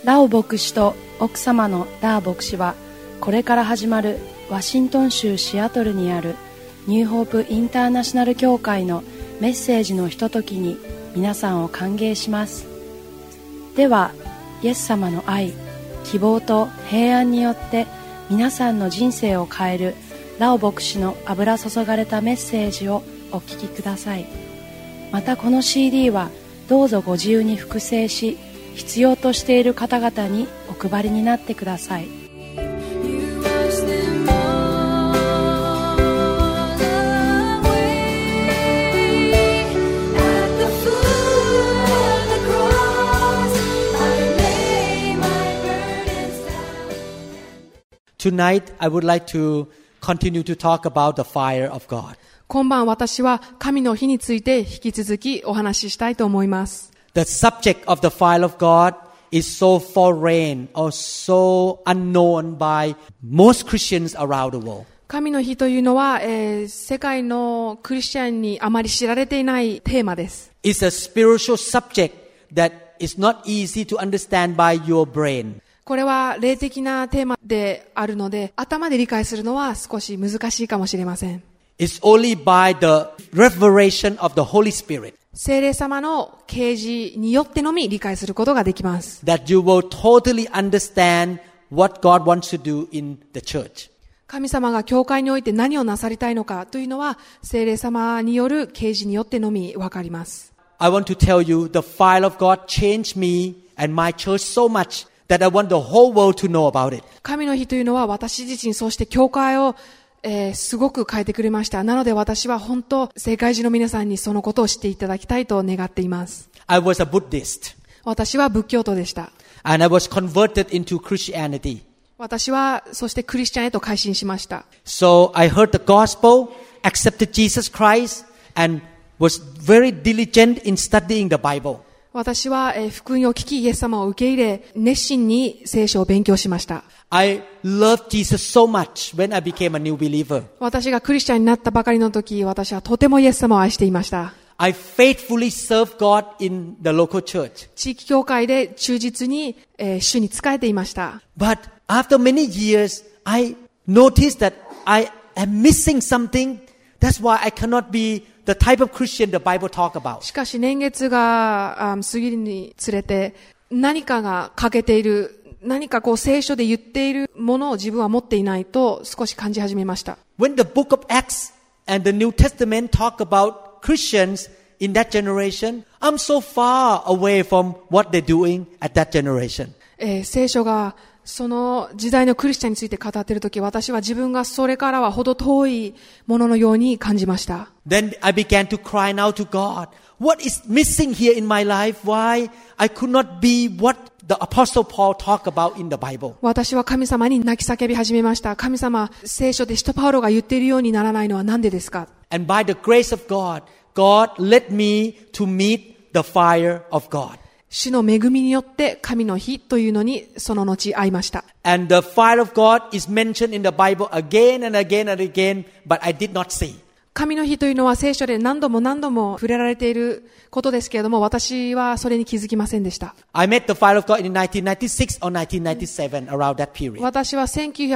ラオ牧師と奥様のダー牧師は、これから始まるワシントン州シアトルにあるニューホープインターナショナル教会のメッセージのひとときに皆さんを歓迎します。では、イエス様の愛、希望と平安によって皆さんの人生を変えるラオ牧師の油注がれたメッセージをお聞きください。またこの CD はどうぞご自由に複製し、必要としている方々にお配りになってください。 Tonight, I would like to continue to talk about the fire of God. 今晩私は神の火について引き続きお話ししたいと思います。 The subject of the fire of God is so foreign or so unknown by most Christians around the world. 神の火というのは、世界のクリスチャンにあまり知られていないテーマです。 It's a spiritual subject that is not easy to understand by your brain. これは霊的なテーマであるので、頭で理解するのは少し難しいかもしれません。 It's only by the revelation of the Holy Spirit. 聖霊様の啓示によってのみ理解することができます。 That you will totally understand what God wants to do in the church. 神様が教会において何をなさりたいのかというのは、聖霊様による啓示によってのみわかります。 I want to tell you, the fire of God changed me and my church so much that I want the whole world to know about it. 神の火というのは私自身、そして教会をすごく変えてくれました。なので私は本当、世界中の皆さんにそのことを知っていただきたいと願っています。 I was a Buddhist. 私は仏教徒でした。 And I was converted into Christianity. 私はそしてクリスチャンへと改心しました。 So I heard the gospel, accepted Jesus Christ, and was very diligent in studying the Bible. 私は福音を聞き、イエス様を受け入れ、熱心に聖書を勉強しました。 I loved Jesus so much when I became a new believer. 私がクリスチャンになったばかりの時、私はとてもイエス様を愛していました。 I faithfully served God in the local church. 地域教会で忠実に、主に仕えていました。 But after many years, I noticed that I am missing something. That's why I cannot be the type of Christian the Bible talk about. しかし年月が過ぎるにつれて、何かが欠けている、何か聖書で言っているものを自分は持っていないと少し感じ始めました。 When the book of Acts and the New Testament talk about Christians in that generation, I'm so far away from what they're doing at that generation. 聖書がその時代のクリスチャンについて語っているとき、私は自分がそれからはほど遠いもののように感じました。 Then I began to cry out to God. What is missing here in my life? Why I could not be what the Apostle Paul talked about in the Bible? 私は神様に泣き叫び始めました。神様、聖書で使徒パウロが言っているようにならないのは何でですか？ And by the grace of God, God led me to meet the fire of God. 主の恵みによって神の火というのにその後会いました。 And the fire of God is mentioned in the Bible again and again and again, but I did not see. 神の火というのは聖書で何度も何度も触れられていることですけれども、私はそれに気づきませんでした。 I met the fire of God in 1996 or 1997, around that period. 私は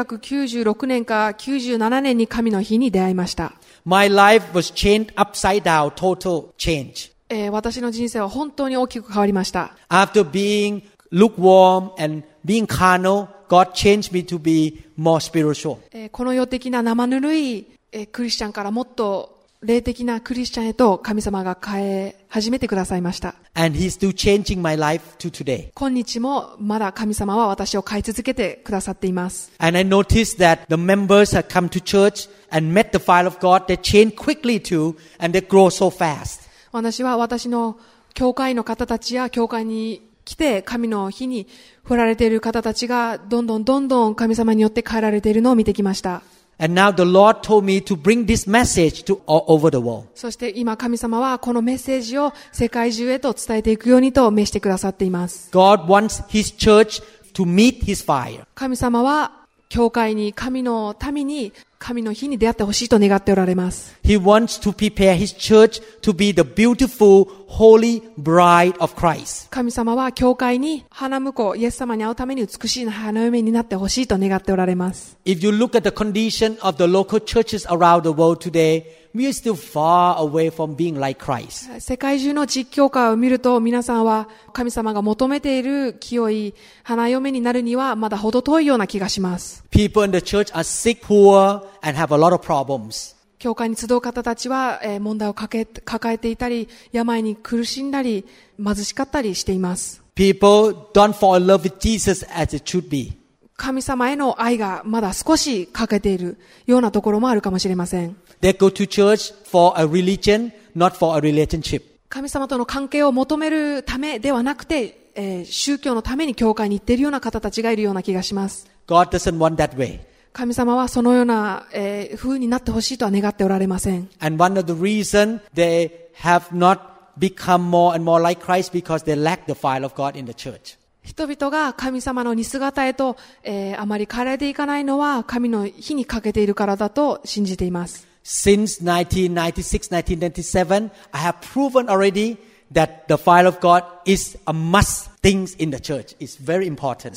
1996年か97年に神の火に出会いました。 My life was changed upside down, total change. 私の人生は本当に大きく変わりました。 After being lukewarm and being carnal, God changed me to be more spiritual. この世的な生ぬるいクリスチャンからもっと霊的なクリスチャンへと神様が変え始めてくださいました。 And He's still changing my life to today. 今日もまだ神様は私を変え続けてくださっています。 And I noticed that the members have come to church and met the fire of God. They change quickly too, and they grow so fast. 私は私の教会の方たちや教会に来て神の火に振られている方たちがどんどん神様によって変えられているのを見てきました。 And now the Lord told me to bring this message to all over the world. そして今神様はこのメッセージを世界中へと伝えていくようにと召してくださっています。 God wants His church to meet His fire. 神様は教会に神の民に神の火に出会ってほしいと願っておられます。 He wants to prepare His church to be the beautiful holy bride of Christ. 神様は教会に花婿イエス様に会うために美しい花嫁になってほしいと願っておられます。 If you look at the condition of the local churches around the world today, we are still far away from being like Christ. 世界中の実教会を見ると、皆さんは神様が求めている清い花嫁になるにはまだ程遠いような気がします。 People in the church are sick, poor, and have a lot of problems. 教会に集う方たちは問題を抱えていたり、病に苦しんだり、貧しかったりしています。 People don't fall in love with Jesus as it should be. 神様への愛がまだ少し欠けているようなところもあるかもしれません。 They go to church for a religion, not for a relationship. 神様との関係を求めるためではなくて、宗教のために教会に行っているような方たちがいるような気がします。 God doesn't want that way. 神様はそのような、風になってほしいとは願っておられません。 And one of the reasons they have not become more and more like Christ because they lack the fire of God in the church. 人々が神様の似姿へと、あまり変えられていかないのは神の火にかけているからだと信じています。 Since 1996, 1997, I have proven already that the fire of God is a must thing in the church. It's very important.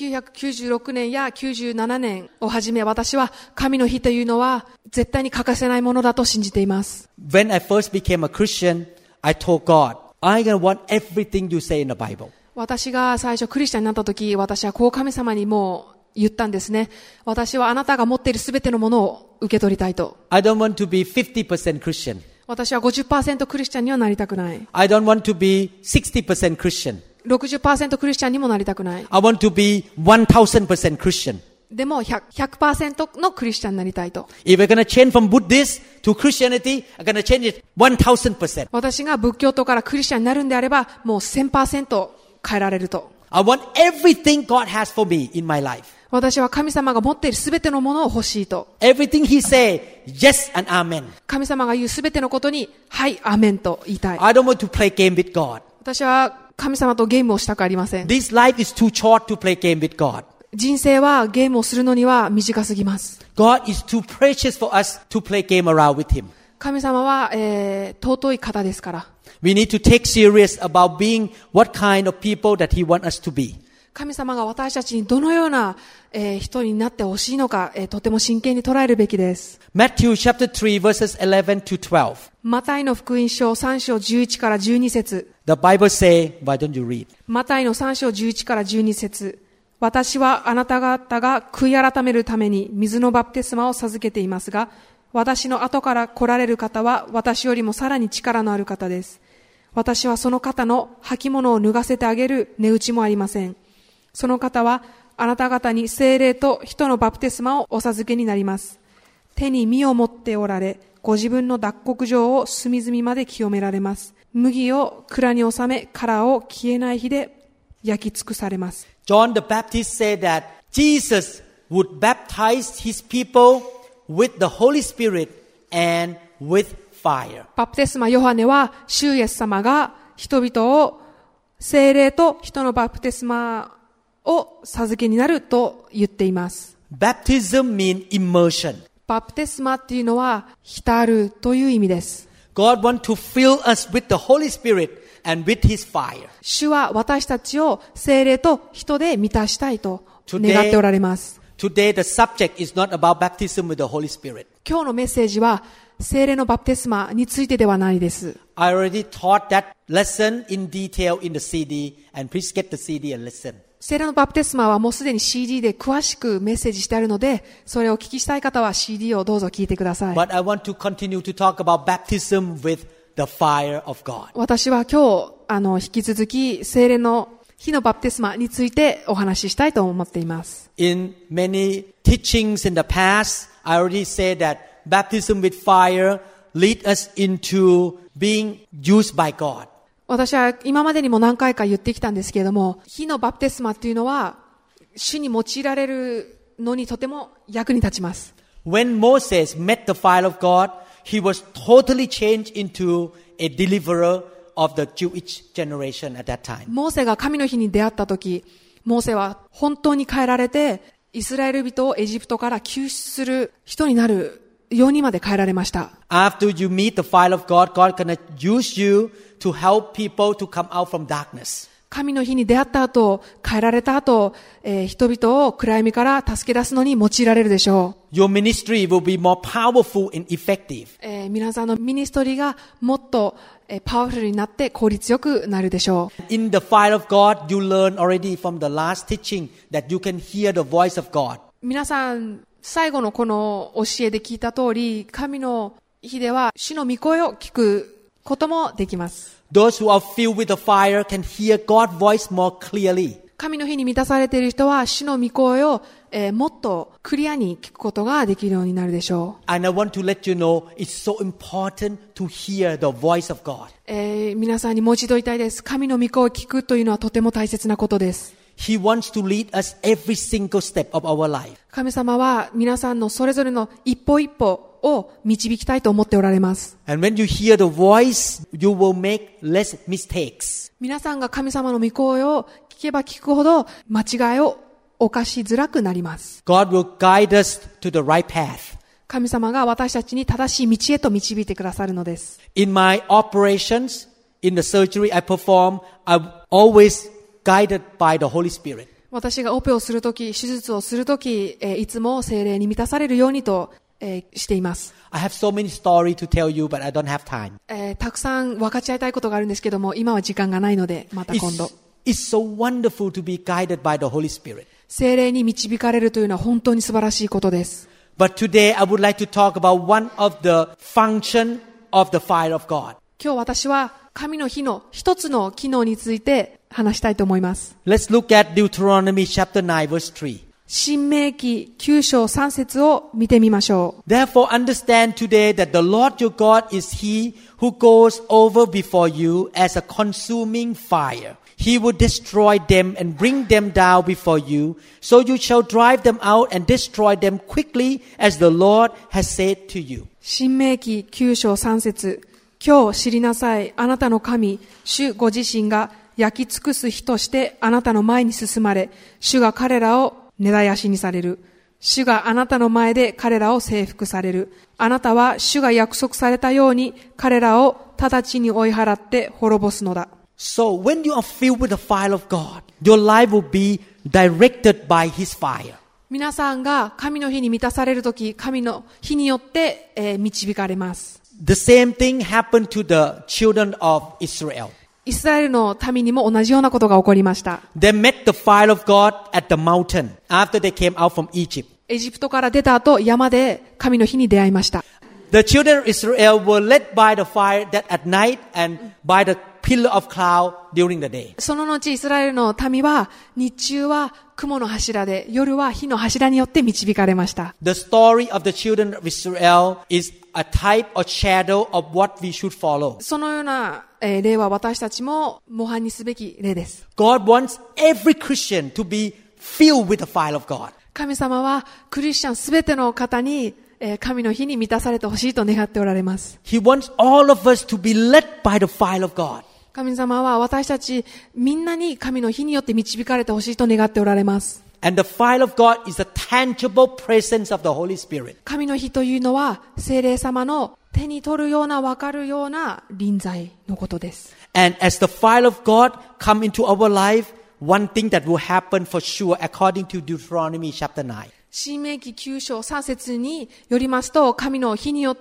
1996年や97年をはじめ、私は神の火というのは絶対に欠かせないものだと信じています。 When I first became a Christian, I told God, I'm going to want everything you say in the Bible. 私が最初クリスチャンになった時、私はこう神様にもう言ったんですね。私はあなたが持っているすべてのものを受け取りたいと。 I don't want to be 50% Christian. 私は 50% クリスチャンにはなりたくない。 I don't want to be 60% Christian. 60% クリスチャンにもなりたくない。 I want to be 1000% Christian. でも 100% のクリスチャンになりたいと。 If we're going to change from Buddhist to Christianity, I'm going to change it 1000%. 私が仏教徒からクリスチャンになるんであれば、もう 1000% 変えられると。 I want everything God has for me in my life. 私は神様が持っているすべてのものを欲しいと。 Everything He say, yes and amen. 神様が言うすべてのことに、はい、アメンと言いたい。 I don't want to play game with God. 私は神様とゲームをしたくありません。 This life is too short to play game with God. 人生はゲームをするのには短すぎます。 God is too precious for us to play game around with Him. 神様は、尊い方ですから。 We need to take serious about being what kind of people that He wants us to be. 神様が私たちにどのような、人になってほしいのか、とても真剣に捉えるべきです。 Matthew chapter 3 verses 11 to 12. マタイの福音書3章11から12節。 The Bible say, why don't you read? マタイの3章11から12節。私はあなた方が悔い改めるために水のバプテスマを授けていますが、私の後から来られる方は私よりもさらに力のある方です。私はその方の履物を脱がせてあげる値打ちもありません。その方はあなた方に聖霊と人のバプテスマをお授けになります。手に実を持っておられ、ご自分の脱穀場を隅々まで清められます。麦を蔵に収め、殻を消えない火で焼き尽くされます。 John the Baptist said that Jesus would baptize his people with the Holy Spirit and with fire. バプテスマヨハネは、主イエス様が人々を聖霊と人のバプテスマを授けになると言っています。 Baptism means immersion. バプテスマっていうのは浸るという意味です。 God wants to fill us with the Holy Spirit and with His fire. 主は私たちを聖霊と人で満たしたいと願っておられます。 Today the subject is not about baptism with the Holy Spirit. 今日のメッセージは聖霊のバプテスマについてではないです。 I already taught that lesson in detail in the CD, and please get the CD and listen. 聖霊のバプテスマはもうすでに CD で詳しくメッセージしてあるので、それをお聞きしたい方は CD をどうぞ聞いてください。 But I want to continue to talk about baptism with the fire of God. 私は今日引き続き聖霊の火のバプテスマについてお話ししたいと思っています。 In many teachings in the past, I already said that baptism with fire lead us into being used by God. 私は今までにも何回か言ってきたんですけれども、火のバプテスマっていうのは主に用いられるのにとても役に立ちます。 When Moses met the fire of God, he was totally changed into a deliverer of the Jewish generation at that time. モーセが神の火に出会った時、モーセは本当に変えられて、イスラエル人をエジプトから救出する人になる世にまで変えられました。 After you meet the fire of God, God gonna use you to help people to come out from darkness. 神の日に出会った後、変えられた後、人々を暗闇から助け出すのに用いられるでしょう。 Your ministry will be more powerful and effective. 皆さんのミニストリーがもっとパワフルになって効率よくなるでしょう。 In the fire of God, you learn already from the last teaching that you can hear the voice of God. 皆さん、最後のこの教えで聞いた通り、神の日では主の御声を聞くこともできます。 Those who are filled with the fire can hear God's voice more clearly. 神の日に満たされている人は主の御声を、もっとクリアに聞くことができるようになるでしょう。 And I want to let you know it's so important to hear the voice of God. 皆さんにもう一度言いたいです。神の御声を聞くというのはとても大切なことです。 He wants to lead us every single step of our life. 神様は皆さんのそれぞれの一歩一歩を導きたいと思っておられます。 And when you hear the voice, you will make less mistakes. 皆さんが神様の御声を聞けば聞くほど間違いを犯しづらくなります。 God will guide us to the right path. 神様が私たちに正しい道へと導いてくださるのです。 In my operations, in the surgery I perform, I'm always guided by the Holy Spirit. 私がオペをするとき、手術をするとき、いつも聖霊に満たされるようにと、しています。 I have so many stories to tell you, but I don't have time. たくさん分かち合いたいことがあるんですけども、今は時間がないので、また今度。 It's so wonderful to be guided by the Holy Spirit. 聖霊に導かれるというのは本当に素晴らしいことです。 But today I would like to talk about one of the function of the fire of God. 今日私は神の火の一つの機能について話したいと思います。 Let's look at Deuteronomy chapter 9 verse 3. 申命記9章3節を見てみましょう。 Therefore understand today that the Lord your God is He who goes over before you as a consuming fire. He will destroy them and bring them down before you, so you shall drive them out and destroy them quickly as the Lord has said to you. 申命記9章3節。今日知りなさい。あなたの神、主ご自身が焼き尽くす日としてあなたの前に進まれ、主が彼らを根絶やしにされる。主があなたの前で彼らを征服される。あなたは主が約束されたように彼らを直ちに追い払って滅ぼすのだ。 So when you are filled with the fire of God, your life will be directed by His fire. 皆さんが神の火に満たされるとき、神の火によって、導かれます。 The same thing happened to the children of Israel. イスラエルの民にも同じようなことが起こりました。 They met the fire of God at the mountain after they came out from Egypt. エジプトから出た後、山で神の火に出会いました。 The children of Israel were led by the fire that at night and by the pillar of cloud during the day. その後、イスラエルの民は、日中は雲の柱で、夜は火の柱によって導かれました。 The story of the children of Israel is a type or shadow of what we should follow. そのような、例は私たちも模範にすべき例です。 God wants every Christian to be filled with the fire of God. 神様はクリスチャンすべての方に、神の火に満たされてほしいと願っておられます。 He wants all of us to be led by the fire of God. 神様は私たちみんなに神の火によって導かれてほしいと願っておられます。 And the fire of God is a tangible presence of the Holy Spirit. 神の火というのは聖霊様の手に取るような分かるような臨在のことです。 And as the fire of God come into our life, one thing that will happen for sure according to Deuteronomy chapter 9. 申命記9章3節によりますと、神の火によって、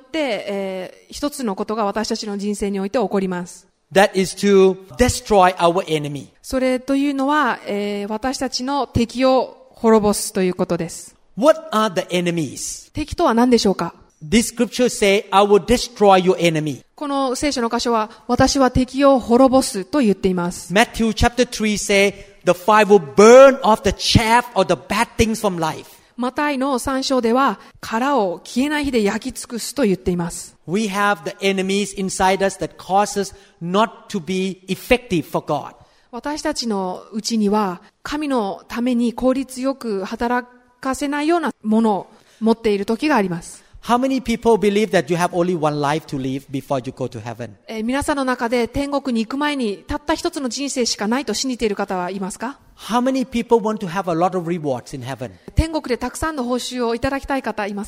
一つのことが私たちの人生において起こります。 That is to destroy our enemy. それというのは、私たちの敵を滅ぼすということです。 What are the enemies? 敵とは何でしょうか？ This scripture say, I will destroy your enemy. この聖書の箇所は、私は敵を滅ぼすと言っています。 Matthew chapter 3 say, the fire will burn off the chaff or the bad things from life. マタイの3章では、殻を消えない火で焼き尽くすと言っています。 We have the enemies inside us that cause us not to be effective for God. 私たちのうちには、神のために効率よく働かせないようなものを持っている時があります。 How many people believe that you have only one life to live before you go to heaven? 皆さんの中で天国に行く前にたった一つの人生しかないと信じている方はいますか？ How many people want to have a lot of rewards in heaven? 天国でたくさんの報酬をいただきたい方いますか？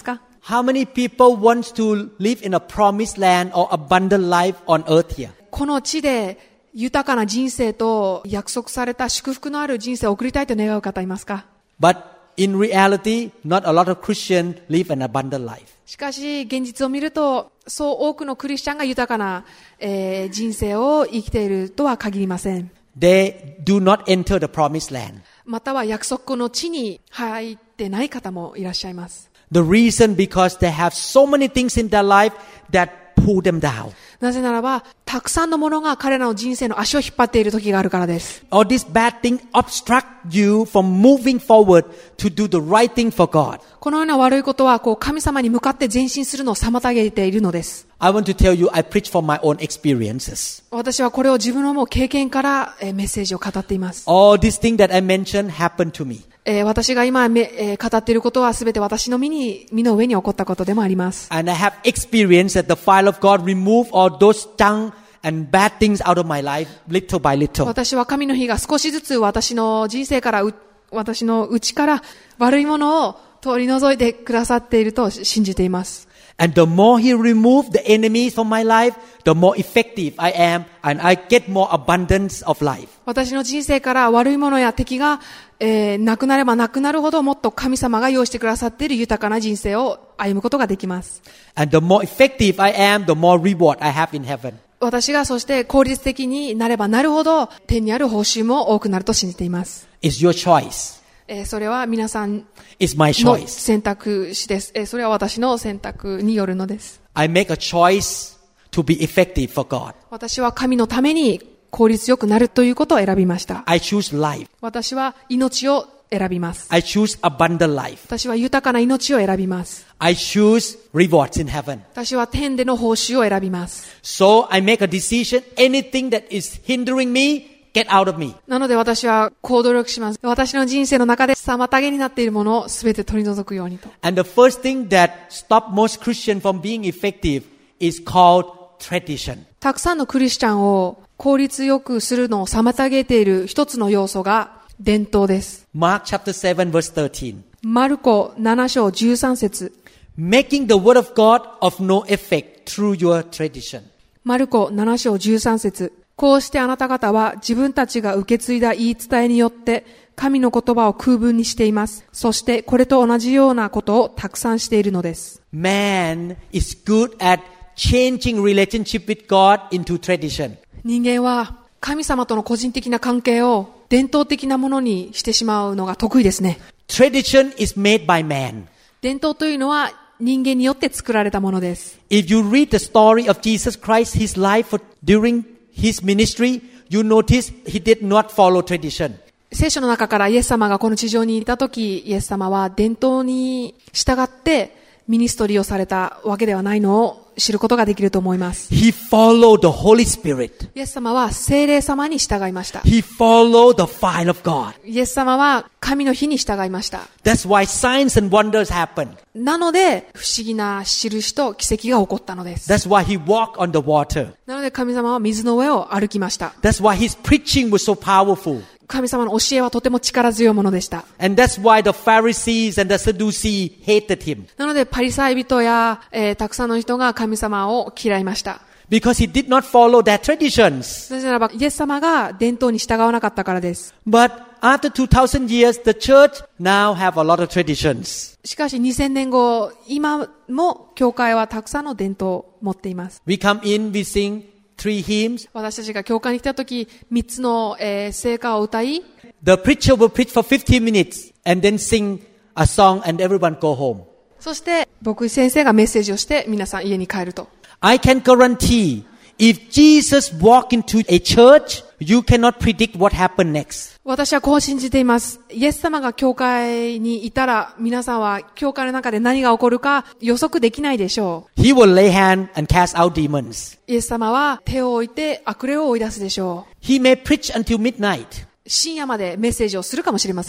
How many people want to live in a promised land or abundant life on earth here? この地で豊かな人生と約束された祝福のある人生を送りたいと願う方いますか？ But in reality, not a lot of Christians live an abundant life. しかし現実を見るとそう多くのクリスチャンが豊かな、人生を生きているとは限りません。 They do not enter the promised land. または約束の地に入ってない方もいらっしゃいます。 The reason because they have so many things in their life that pull them down. なぜならばたくさんのものが彼らの人生の足を引っ張っている時があるからです。 All these bad things obstruct you from moving forward to do the right thing for God. このような悪いことは神様に向かって前進するのを妨げているのです。 I want to tell you, I preach from my own experiences. 私はこれを自分のもう経験からメッセージを語っています。 All these things that I mentioned happened to me. 私が今語っていることはすべて私の身の上に起こったことでもあります。 And I have experienced that the fire of God remove all those junk and bad things out of my life little by little. 私は神の火が少しずつ私の人生から私の内から悪いものを取り除いてくださっていると信じています。 And the more He removed the enemies from my life, the more effective I am and I get more abundance of life. 私の人生から悪いものや敵が、なくなればなくなるほどもっと神様が用意してくださっている豊かな人生を歩むことができます。 And the more effective I am, the more reward I have in heaven. 私がそして効率的になればなるほど天にある報酬も多くなると信じています。 It's your choice. それは皆さん It's my の choice. 選択肢です。それは私の選択によるのです。 I make a choice to be effective for God. 私は神のために効率よくなるということを選びました。 I choose life. 私は命を選びます。 I choose abundant life. 私は豊かな命を選びます。 I choose rewards in heaven. 私は天での報酬を選びます。 So I make a decision. Anything that is hindering me, get out of me. なので私は行動力します。私の人生の中で妨げになっているものをすべて取り除くようにと。 And the first thing that stop most Christians from being effective is called tradition. たくさんのクリスチャンを効率よくするのを妨げている一つの要素が伝統です。 Mark chapter 7 verse 13. マルコ7章13節 Making the word of God of no effect through your tradition. マルコ7章13節こうしてあなた方は自分たちが受け継いだ言い伝えによって神の言葉を空文にしています。そしてこれと同じようなことをたくさんしているのです。 Man is good at changing relationship with God into tradition. 人間は神様との個人的な関係を伝統的なものにしてしまうのが得意ですね。 Tradition is made by man. 伝統というのは人間によって作られたものです。 If you read the story of Jesus Christ, his life during his ministry, you notice he did not follow tradition. 聖書の中からイエス様がこの地上にいたとき、イエス様は伝統に従ってミニストリーをされたわけではないのを知ることができると思います。 He followed the Holy Spirit. イエス様は聖霊様に従いました。 He followed the fire of God. イエス様は神の火に従いました。 That's why signs and wonders happen. なので不思議な印と奇跡が起こったのです。 That's why he walked on the water. なので神様は水の上を歩きました。 That's why his preaching was so powerful. 神様の教えはとても力強いものでした。 And that's why the Pharisees and the Sadducees hated him. なのでパリサイ人や、たくさんの人が神様を嫌いました。 Because he did not follow their traditions. なぜならばイエス様が伝統に従わなかったからです。 But after 2000 years, the church now have a lot of traditions. しかし2000年後、今も教会はたくさんの伝統を持っています。 We come in, we sing 3 hymns. 私たちが教会に来たとき、3つの、聖歌を歌い、 The preacher will preach for 15 minutes and then sing a song and everyone go home. そして牧師先生がメッセージをして皆さん家に帰ると。 I can guarantee if Jesus walked into a church, you cannot predict what happened next. 私はこう信じています。イエス様が教会にいたら皆さんは教会の中で何が起こるか予測できないでしょう。 He will lay hand and cast out demons. イエス様は手を置いて悪霊を追い出すでしょう。 He may preach until midnight. 深夜までメッセージをするかもしれません。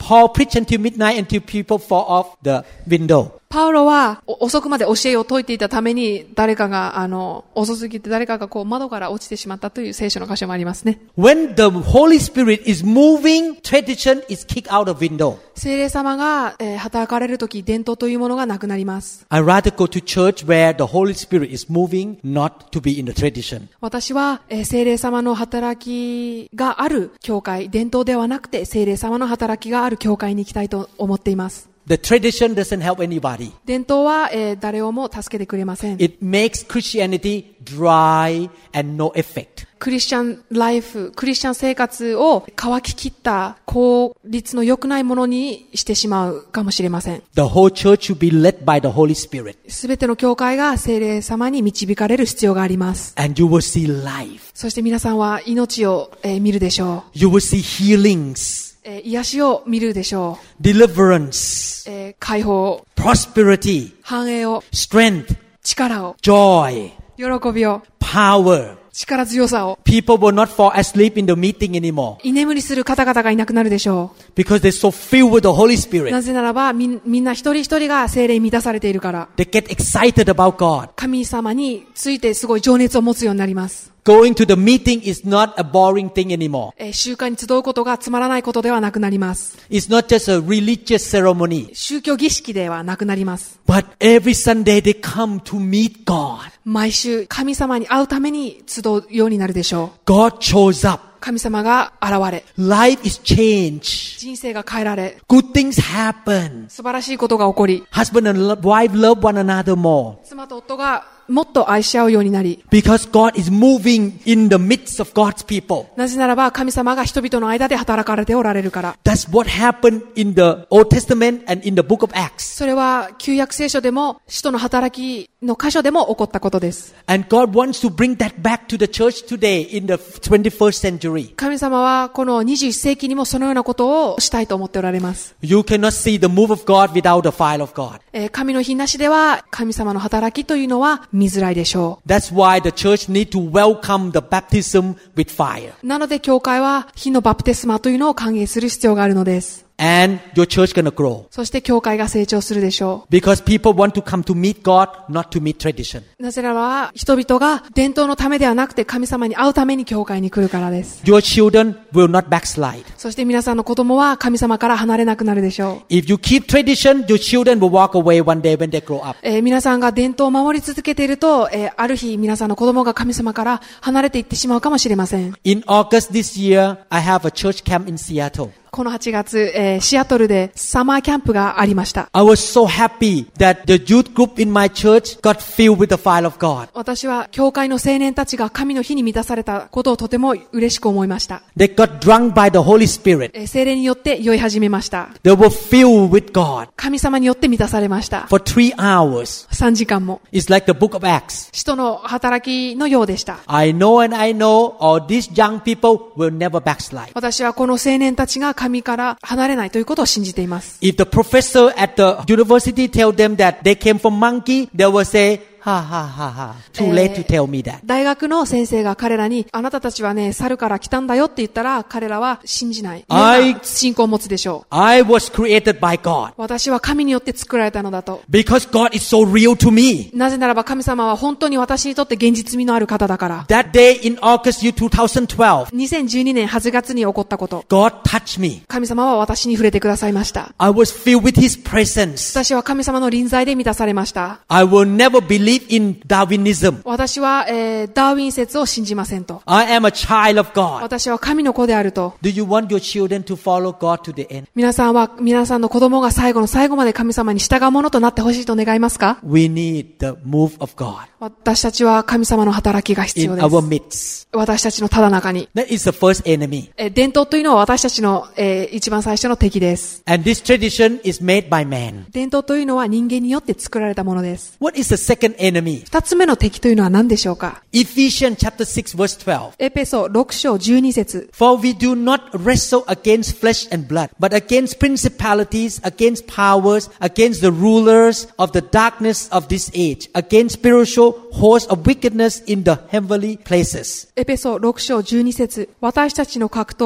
Paul preached until midnight until people fall off the window. パウロは遅くまで教えを説いていたために誰かが遅すぎて誰かが窓から落ちてしまったという聖書の箇所もありますね。 When the Holy Spirit is moving, tradition is kicked out of window. 聖霊様が、働かれるとき伝統というものがなくなります。 I rather go to church where the Holy Spirit is moving, not to be in the tradition. 私は、聖霊様の働きがある教会、伝統ではなくて聖霊様の働きがある教会に行きたいと思っています。 The tradition doesn't help anybody. 伝統は、誰をも助けてくれません。 It makes Christianity dry and no effect. クリスチャンライフ、クリスチャン生活を乾ききった効率の良くないものにしてしまうかもしれません。 The whole church should be led by the Holy Spirit. すべての教会が聖霊様に導かれる必要があります。 And you will see life. そして皆さんは命を、見るでしょう。 You will see healings. 癒しを見るでしょう。 Deliverance. 解放、 Prosperity. 繁栄を、 Strength. 力を、 Joy. 喜びを、 Power. 力強さを。 People will not fall asleep in the meeting anymore. 居眠りする方々がいなくなるでしょう。 Because they're so filled with the Holy Spirit. なぜならばみんな一人一人が聖霊に満たされているから。 They get excited about God. 神様についてすごい情熱を持つようになります。 Going to the meeting is not a boring thing anymore. 集会に集うことがつまらないことではなくなります。 It's not just a religious ceremony. 宗教儀式ではなくなります。 But every Sunday they come to meet God. 毎週神様に会うために集うようになるでしょう。 God shows up. 神様が現れ、 Life is changed. 人生が変えられ、 Good things happen. 素晴らしいことが起こり、 Husband and wife love one another more. 妻と夫がもっと愛し合うようになり、 Because God is moving in the midst of God's people. なぜならば神様が人々の間で働かれておられるから。 That's what happened in the Old Testament and in the book of Acts. それは旧約聖書でも使徒の働きの箇所でも起こったことです。 And God wants to bring that back to the church today in the 21st century. 神様はこの21世紀にもそのようなことをしたいと思っておられます。 You cannot see the move of God without the fire of God. 神の日なしでは神様の働きというのは見づらいでしょう。 That's why the church need to welcome the baptism with fire. なので教会は火のバプテスマというのを歓迎する必要があるのです。 And your church gonna grow. そして教会が成長するでしょ Because people want to come to meet God, not to meet tradition. う。なぜならば人々が伝統のためではなくて神様に会うために教会に来るからです。 Your children will not backslide. そして皆さんの子供は神様から離れなくなるでしょ If you keep tradition, your children will walk away one day when they grow up. う。皆さんが伝統を守り続けていると、ある日皆さんの子供が神様から離れていってしまうかもしれません。 In August this year, I have a church camp in Seattle. この8月、シアトルでサマーキャンプがありました。 I was so happy that the youth group in my church got filled with the fire of God. 私は教会の青年たちが神の火に満たされたことをとても嬉しく思いました。 They got drunk by the Holy Spirit. 聖霊によって酔い始めました。 They were filled with God 神様によって満たされました。 for 3 hours. 3時間も。 It's like the book of Acts. 使徒の働きのようでした。 I know and I know all these young people will never backslide. 私はこの青年たちが神から離れないということを信じています。 If the professor at the university tell them that they came from monkey, they will say, ha ha ha ha. Too late to tell me that. 大学の先生が彼らに、あなたたちはね、猿から来たんだよって言ったら、彼らは信じない。信仰を持つでしょう。 I was created by God. 私は神によって作られたのだと。 Because God is so real to me. なぜならば神様は本当に私にとって現実味のある方だから。 That day in August 2012, 2012年8月に起こったこと。 God touched me. 神様は私に触れてくださいました。 I was filled with His presence. 私は神様の臨在で満たされました。 I will never believe in Darwinism. 私は、ダーウィン説を信じませんと。 I am a child of God. 私は神の子であると。 Do you want your children to follow God to the end? 皆さんは、皆さんの子供が最後の最後まで神様に従うものとなってほしいと願いますか？ We need the move of God 私たちは神様の働きが必 in 要で our す。 midst. 私たちのただ中に。 That is the first enemy. 伝統というのは私たちの、一番最初の敵です。 And this tradition is made by man. 伝統というのは人間によって作られたものです。 What is the second enemy? 二つ目の敵というのは何でしょうか？ Ephesians chapter 6 verse 12. エペソ6章12節。 For we do not wrestle against flesh and blood, but against principalities, against powers, against the rulers of the darkness of this age, against spiritual hosts of wickedness in the heavenly places. エペソ6章12節。私たちの格闘は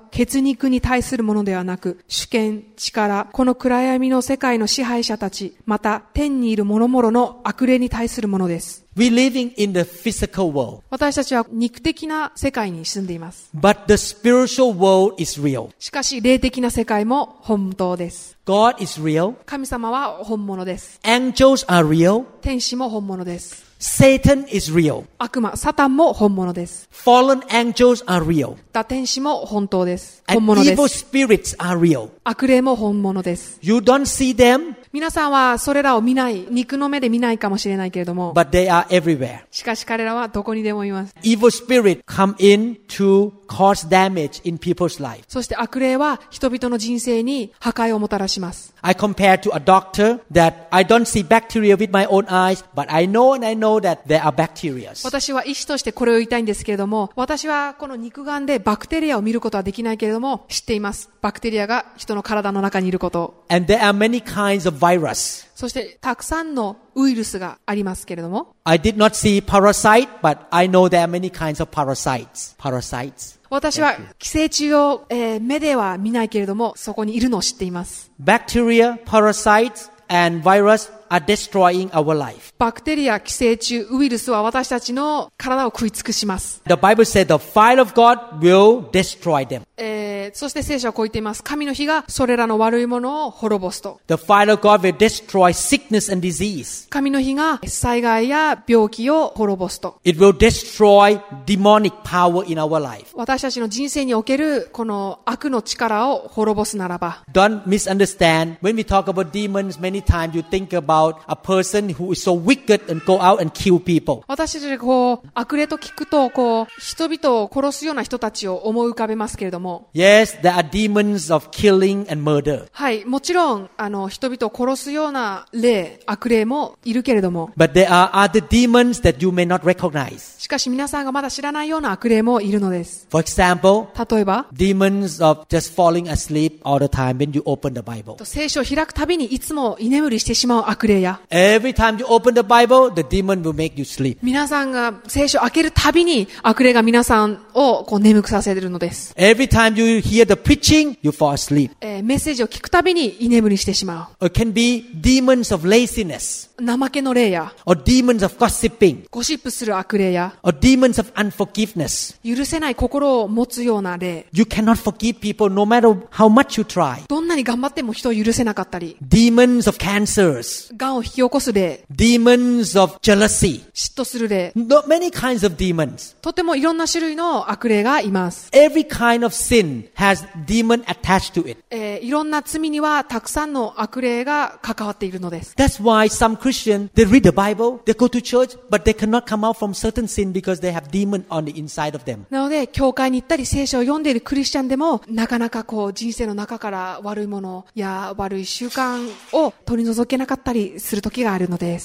血肉に対するものではなく、主権、力、この暗闇の世界の支配者たち、また天にいる諸々の悪霊に対するものです。 We're living in the physical world, 私たちは肉的な世界に住んでいます。 but the spiritual world is real. しかし、霊的な世界も本当です。 God is real. 神様は本物です。 Angels are real. 天使も本物です。 Satan is real. 悪魔、サタンも本物です。 Fallen angels are real. 天使も本当です。 And 本物で evil す。 spirits are real. 悪霊も本物です。 You don't see them, 皆さんはそれらを見ない、肉の目で見ないかもしれないけれども、 but they are everywhere. しかし彼らはどこにでもいます。 Evil spirits come in to cause damage in people's life. そして悪霊は人々の人生に破壊をもたらします。 I compare to a doctor that I don't see bacteria with my own eyes, but I know that there are bacteria. 私は医師としてこれを言いたいんですけれども、私はこの肉眼でバクテリアを見ることはできないけれども、知っています。バクテリアが人の体の中にいることを。 And there are many kinds of virus. そしてたくさんのウイルスがありますけれども、 I did not see parasite, but I know there are many kinds of parasites. 私は寄生虫を、目では見ないけれども、そこにいるのを知っています。 Bacteria, parasites, and virus are destroying our life. バクテリア、寄生虫、ウイルスは私たちの体を食い尽くします。 The Bible said the fire of God will destroy them. そして聖書はこう言っています。神の火がそれらの悪いものを滅ぼすと。 The fire of God will destroy sickness and disease. 神の火が災害や病気を滅ぼすと。 It will destroy demonic power in our life. 私たちの人生におけるこの悪の力を滅ぼすならば。 Don't misunderstand. When we talk about demons, many times you think about a person who is so wicked and go out and kill people. 私たちがこう悪霊と聞くとこう人々を殺すような人たちを思い浮かべますけれども。 Yes, there are demons of killing and murder. はい、もちろん人々を殺すような霊、悪霊もいるけれども。 But there are other demons that you may not recognize. しかし皆さんがまだ知らないような悪霊もいるのです。 For example, 例えば、 demons of just falling asleep all the time when you open the Bible. 聖書を開くたびにいつも居眠りしてしまう悪霊や。 Every time you open the Bible, the demon will make you sleep. 皆さんが聖書を開けるたびに悪霊が皆さんをこう眠くさせているのです。 Every time you hear the preaching, you fall asleep. メッセージを聞くたびに居眠りしてしまう。 It can be demons of laziness. 怠けの霊や、 or demons of gossiping, ゴシップする悪霊や、 or demons of unforgiveness. 許せない心を持つような霊。 You cannot forgive people no matter how much you try. どんなに頑張っても人を許せなかったり、 Demons of cancers, 癌を引き起こす霊、 demons of jealousy. 嫉妬する霊。 Many kinds of demons. とてもいろんな種類の悪霊がいます。 Every kind of sin has demon attached to it. いろんな罪にはたくさんの悪霊が関わっているのです。 That's why some Christians, they read the Bible, they go to church, but they cannot come out from certain sin because they have demon on the inside of them. なので、教会に行ったり聖書を読んでいるクリスチャンでも、なかなかこう人生の中から悪いものや悪い習慣を取り除けなかったりする時があるのです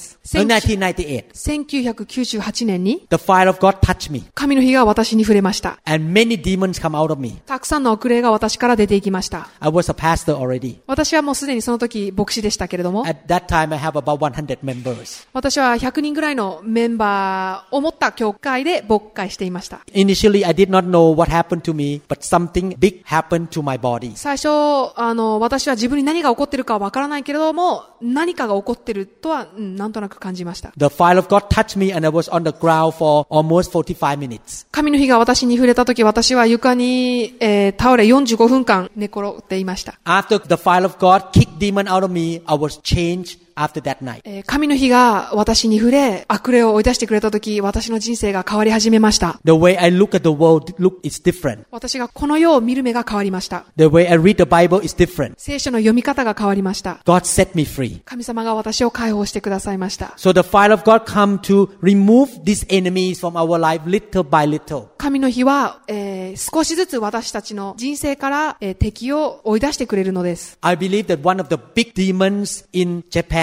。1998年に The fire of God touched me. 神の火が私に触れました。 And many demons come out of me. たくさんの悪霊が私から出ていきました。 I was a pastor already. 私はもうすでにその時牧師でしたけれども、 At that time I have about 100 members. 私は100人ぐらいのメンバーを持った教会で牧会していました。 Initially I did not know what happened to me, but something big happened to my body. 最初、私は自分に何が起こっているかはわからないけれども、何かが起こっているとは、なんとなく感じました。 The fire of God touched me and I was on the ground for almost 45 minutes. 神の火が私に触れた時、私は床に、倒れ45分間寝転っていました。 After the fire of God kicked demon out of me, I was changed after that night. 神の火が私に触れ、悪霊を追い出してくれた時、私の人生が変わり始めました。 The way I look at the world is different. 私がこの世を見る目が変わりました。 The way I read the Bible is different. 聖書の読み方が変わりました。 God set me free. 神様が私を解放してくださいました。 So the fire of God come to remove these enemies from our life little by little. 神の火は、少しずつ私たちの人生から、敵を追い出してくれるのです。 I believe that one of the big demons in Japan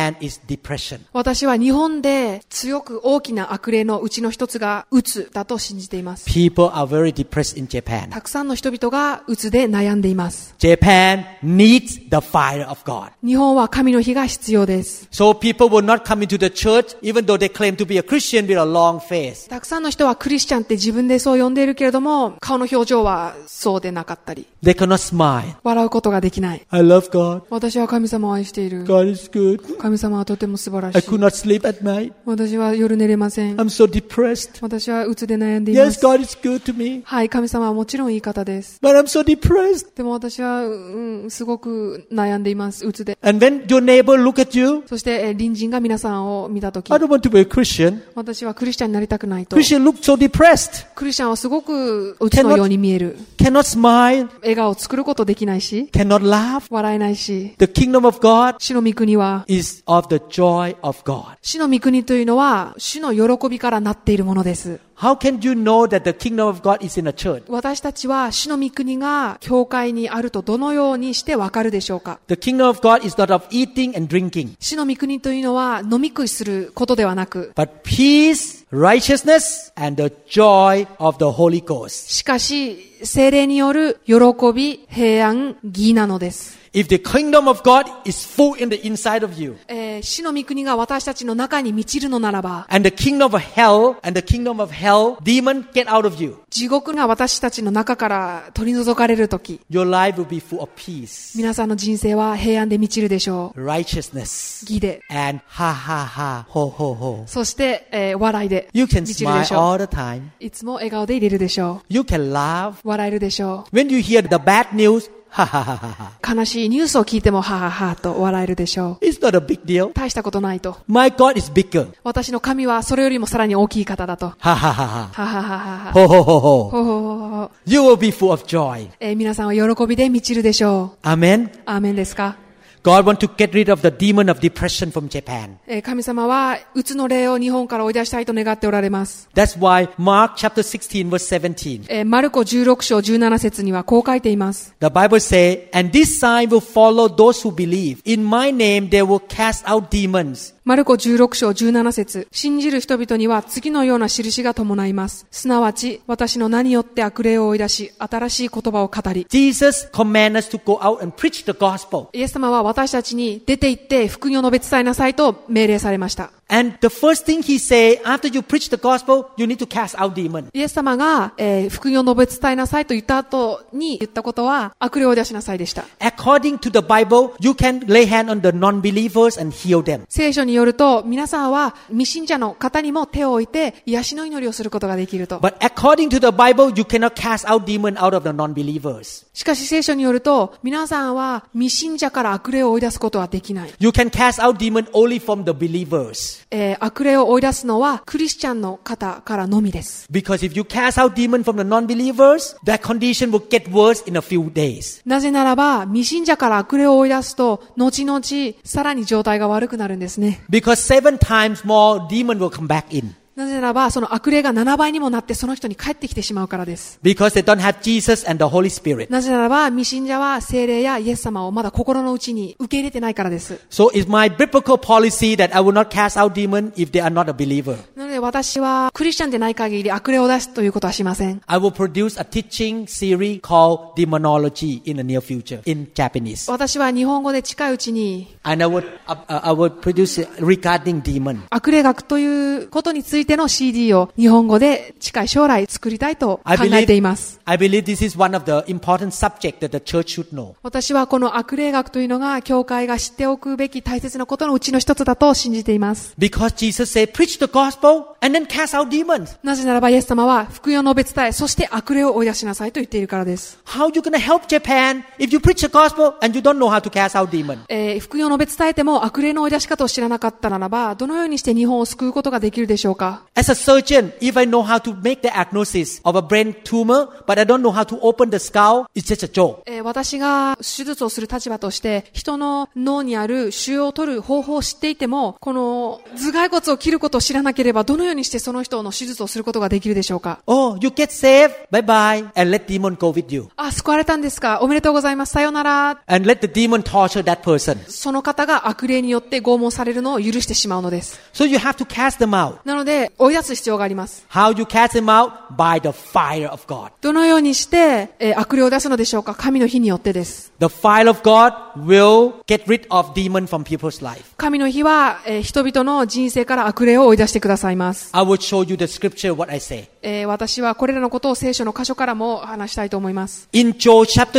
Japan is depression. 私は日本で強く大きな悪霊のうちの一つがうつだと信じています。 People are very depressed in Japan. たくさんの人々がうつで悩んでいます。 Japan needs the fire of God. 日本は神の火が必要です。 So people will not come into the church even though they claim to be a Christian with a long face. たくさんの人はクリスチャンって自分でそう呼んでいるけれども、顔の表情はそうでなかったり、 They cannot smile. 笑うことができない。 I love God. 私は神様を愛している。 God is good. 神様はとても素晴ら I しい。 could not sleep at night. 私は夜寝れません。 I'm so depressed. 私はうつで悩んでいま Yes, す。 God is good to me. はい、神様はもちろんいい方です。 But I'm so depressed. でも私は、すごく悩んでいます。うつで。 And when your neighbor look at you, そして、隣人が皆さんを見たとき、 I don't want to be a Christian. 私はクリスチャンになりたくないと。 Christian look so depressed. クリスチャンはすごくうつのように見える。 Cannot smile. 笑顔を作ることできないし、 Cannot laugh. 笑えないし、 The kingdom of God 主の御国は、 is of the joy of God. 主の御国というのは、主の喜びからなっているものです。 How can you know that the kingdom of God is in a church? 私たちは主の御国が教会にあるとどのようにしてわかるでしょうか。 The kingdom of God is not of eating and drinking, 主の御国というのは飲み食いすることではなく、 but peace, righteousness, and the joy of the Holy Ghost. しかし聖霊による喜び、平安、義なのです。 If the kingdom of God is full in the inside of you, 主の御国が私たちの中に満ちるのならば、 and the kingdom of hell, demon get out of you, 地獄が私たちの中から取り除かれるとき、 your life will be full of peace, 皆さんの人生は平安で満ちるでしょう。 righteousness, 義で、 and ha ha ha, ho ho ho. そして、笑いで You can 満ちるで smile しょ all う。 the time. いつも笑顔でいれるでしょ You can laugh. う。笑えるでしょ When you hear the bad news, ha ha ha ha ha. う。悲しいニュースを聞いてもはははと笑えるでしょう。 It's not a big deal. 大したことないと。 My God is bigger. 私の神はそれよりもさらに大きい方だと。 Ha ha ha ha. ははははは。 Ho ho ho ho. ほほほほ。 You will be full of joy. 皆さんは喜びで満ちるでしょう。 Amen. アーメンですか。 God wants to get rid of the demon of depression from Japan. 神様はうつの霊を日本から追い出したいと願っておられます。 That's why Mark chapter 16 verse 17. マルコ16章17節にはこう書いています。 The Bible says, and this sign will follow those who believe. In my name they will cast out demons. マルコ16章17節、信じる人々には次のような印が伴います。すなわち、私の名によって悪霊を追い出し、新しい言葉を語り。 Jesus commanded us to go out and preach the gospel. イエス様は私たちに出て行って福音を述べ伝えなさいと命令されました。 And the first thing he said, after you preach the gospel, you need to cast out demons. イエス様が、福音を述べ伝えなさいと言った後に言ったことは、悪霊を追い出しなさいでした。 According to the Bible, you can lay hand on the non-believers and heal them. 聖書によると、皆さんは未信者の方にも手を置いて癒しの祈りをすることができると。 But according to the Bible, you cannot cast out demons out of the non-believers. しかし聖書によると、皆さんは未信者から悪霊を追い出すことはできない。 You can cast out demons only from the believers. 悪霊を追い出すのはクリスチャンの方からのみです。 Because if you cast out demons from the non-believers, that condition will get worse in a few days. なぜならば、未信者から悪霊を追い出すと、後々さらに状態が悪くなるんですね。 Because 7 times more demons will come back in. なぜならば、その悪霊が7倍にもなってその人に帰ってきてしまうからです。 Because they don't have Jesus and the Holy Spirit. なぜならば、未信者は聖霊やイエス様をまだ心の内に受け入れてないからです。 So it's my biblical policy that I will not cast out demons if they are not a believer. なので私はクリスチャンでない限り悪霊を出すということはしません。 I will produce a teaching series called Demonology in the near future in Japanese. 私は日本語で近いうちに And I would produce it regarding demon. 悪霊学ということについての CD を日本語で近い将来作りたいと考えています。 I believe this is one of the important subjects that the church should know. 私はこの悪霊学というのが教会が知っておくべき大切なことのうちの一つだと信じています。 Because Jesus said, preach the gospel and then cast out demons. なぜならばイエス様は福音を述べ伝え、そして悪霊を追い出しなさいと言っているからです。 How are you going to help Japan if you preach the gospel and you don't know how to cast out demons? 福音を述べ伝えても悪霊の追い出し方を知らなかったならば、どのようにして日本を救うことができるでしょうか。 か。 As a surgeon, if I know how to make the diagnosis of a brain tumor, but I don't know how to open the skull, it's just a joke. 私が手術をする立場として、人の脳にある腫瘍を取る方法を知っていても、この頭蓋骨を切ることを知らなければ、どのようにしてその人の手術をすることができるでしょうか。 Oh, you get saved, bye bye, and let demon go with you. 救われたんですか。おめでとうございます。さようなら。 And let the demon torture that person. その方が悪霊によって拷問されるのを許してしまうのです。 So you have to cast them out. なので、追い出す必要があります。 How you cast them out? By the fire of God. どのようにして、悪霊を出すのでしょうか。神の火によってです。 The fire of God will get rid of demon from people's life. 神の火は、人々の人生から悪霊を追い出してくださいます。 I will show you the scripture what I say. 私はこれらのことを聖書の箇所からも話したいと思います。 In Joel chapter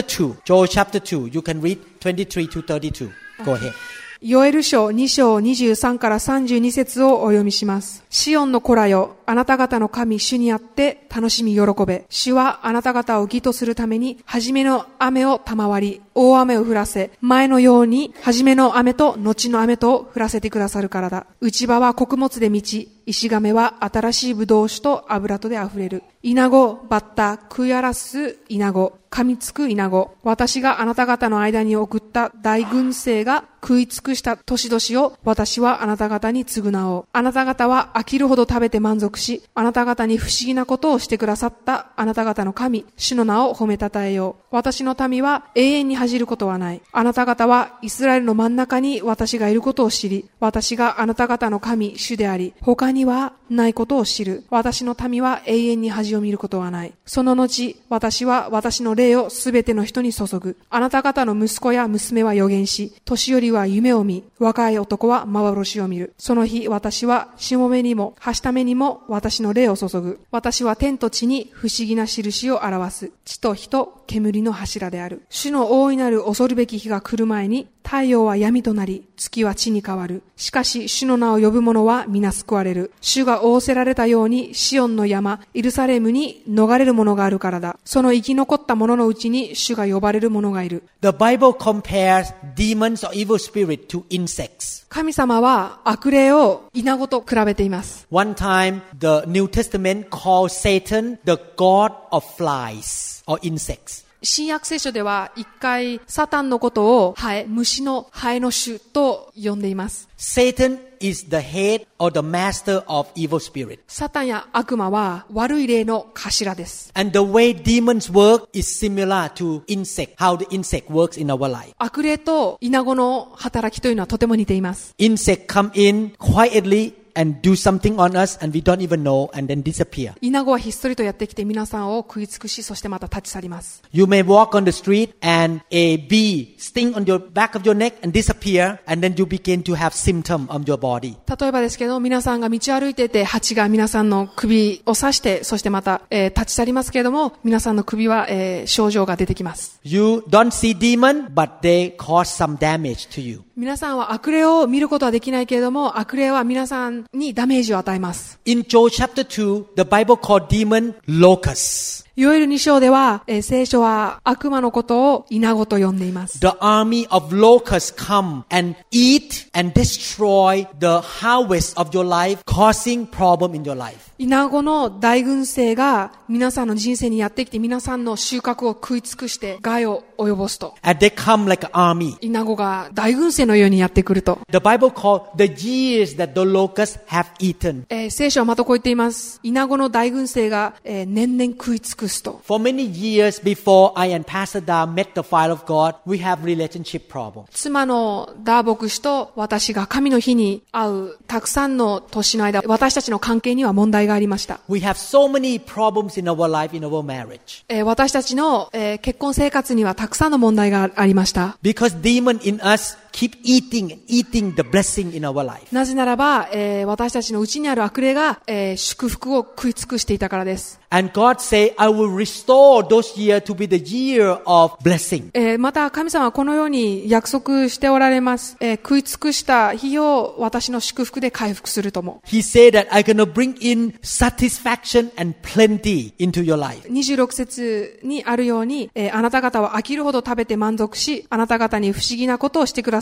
2, you can read 23 to 32. Go ahead. ヨエル書2章23から32節をお読みします。シオンの子らよ、あなた方の神主にあって楽しみ喜べ。主はあなた方を義とするために、初めの雨を賜り、大雨を降らせ、前のように初めの雨と後の雨と降らせてくださるからだ。内場は穀物で満ち、石亀は新しいブドウ酒と油とであふれる。イナゴ、バッタ、食い荒らすイナゴ、噛みつくイナゴ。私があなた方の間に送った大軍勢が食い尽くした年々を私はあなた方に償おう。あなた方は飽きるほど食べて満足し、あなた方に不思議なことをしてくださったあなた方の神、主の名を褒めたたえよう。私の民は永遠に恥じることはない。あなた方はイスラエルの真ん中に私がいることを知り、私があなた方の神、主であり、他にはないことを知る。私の民は永遠に恥を見ることはない。その後、私は私の霊をすべての人に注ぐ。あなた方の息子や娘は預言し、年寄りは夢を見、若い男は幻を見る。その日、私はしもべにも、はしためにも私の霊を注ぐ。私は天と地に不思議な印を表す。地と火と煙の柱である。主の大いなる恐るべき日が来る前に、太陽は闇となり、月は地に変わる。しかし、主の名を呼ぶ者は皆救われる。主が仰せられたように、シオンの山、エルサレムに逃れる者があるからだ。その生き残った者のうちに、主が呼ばれる者がいる。 The Bible compares demons or evil spirit to insects. 神様は悪霊をイナゴと比べています。 One time, the New Testament called Satan the god of flies or insects. 新約聖書では一回サタンのことを虫のハエの種と呼んでいます。 Satan is the head or the master of evil spirit. サタンや悪魔は悪い霊の頭です。 And the way demons work is similar to insect, how the insect works in our life. 悪霊とイナゴの働きというのはとても似ています。 Insect come in quietly and do something on us and we don't even know and then disappear. イナゴはひっそりとやってきて皆さんを食い尽くし、そしてまた立ち去ります。 You may walk on the street and a bee sting on your back of your neck and disappear and then you begin to have symptom on your body. 例えばですけど、皆さんが道を歩いていて蜂が皆さんの首を刺して、そしてまた、立ち去りますけれども、皆さんの首は、症状が出てきます。 You don't see demon but they cause some damage to you. 皆さんは悪霊を見ることはできないけれども、悪霊は皆さんにダメージを与えます。 In Joel chapter 2, the Bible called demon locusts. ヨエル2章では、聖書は悪魔のことをイナゴと呼んでいます。 The army of locusts come and eat and destroy the harvest of your life, causing problem in your life. イナゴの大軍勢が皆さんの人生にやってきて、皆さんの収穫を食い尽くして害を及ぼすと。 And they come like an army. イナゴが大軍勢のようにやってくると。 The Bible called the years that the locusts have eaten. 聖書はまたこう言っています。イナゴの大軍勢が、年々食い尽くすと。 For many years before I and Pastor Da met the fire of God, we have relationship problems. 妻のダー牧師と私が神の日に会うたくさんの年の間、私たちの関係には問題がありました。 We have so many problems in our life, in our marriage. 私たちの、結婚生活にはたくさんの問題がありました。 Because demon in us keep eating the blessing in our life. なぜならば、私たちのうちにある悪霊が、祝福を食い尽くしていたからです。 And God say, I will restore those years to be the year of blessing. また神様はこのように約束しておられます。食い尽くした日を私の祝福で回復するとも。 He said that I'm going to bring in satisfaction and plenty into your life. 26節にあるように、あなた方は飽きるほど食べて満足し、あなた方に不思議なことをしてくだ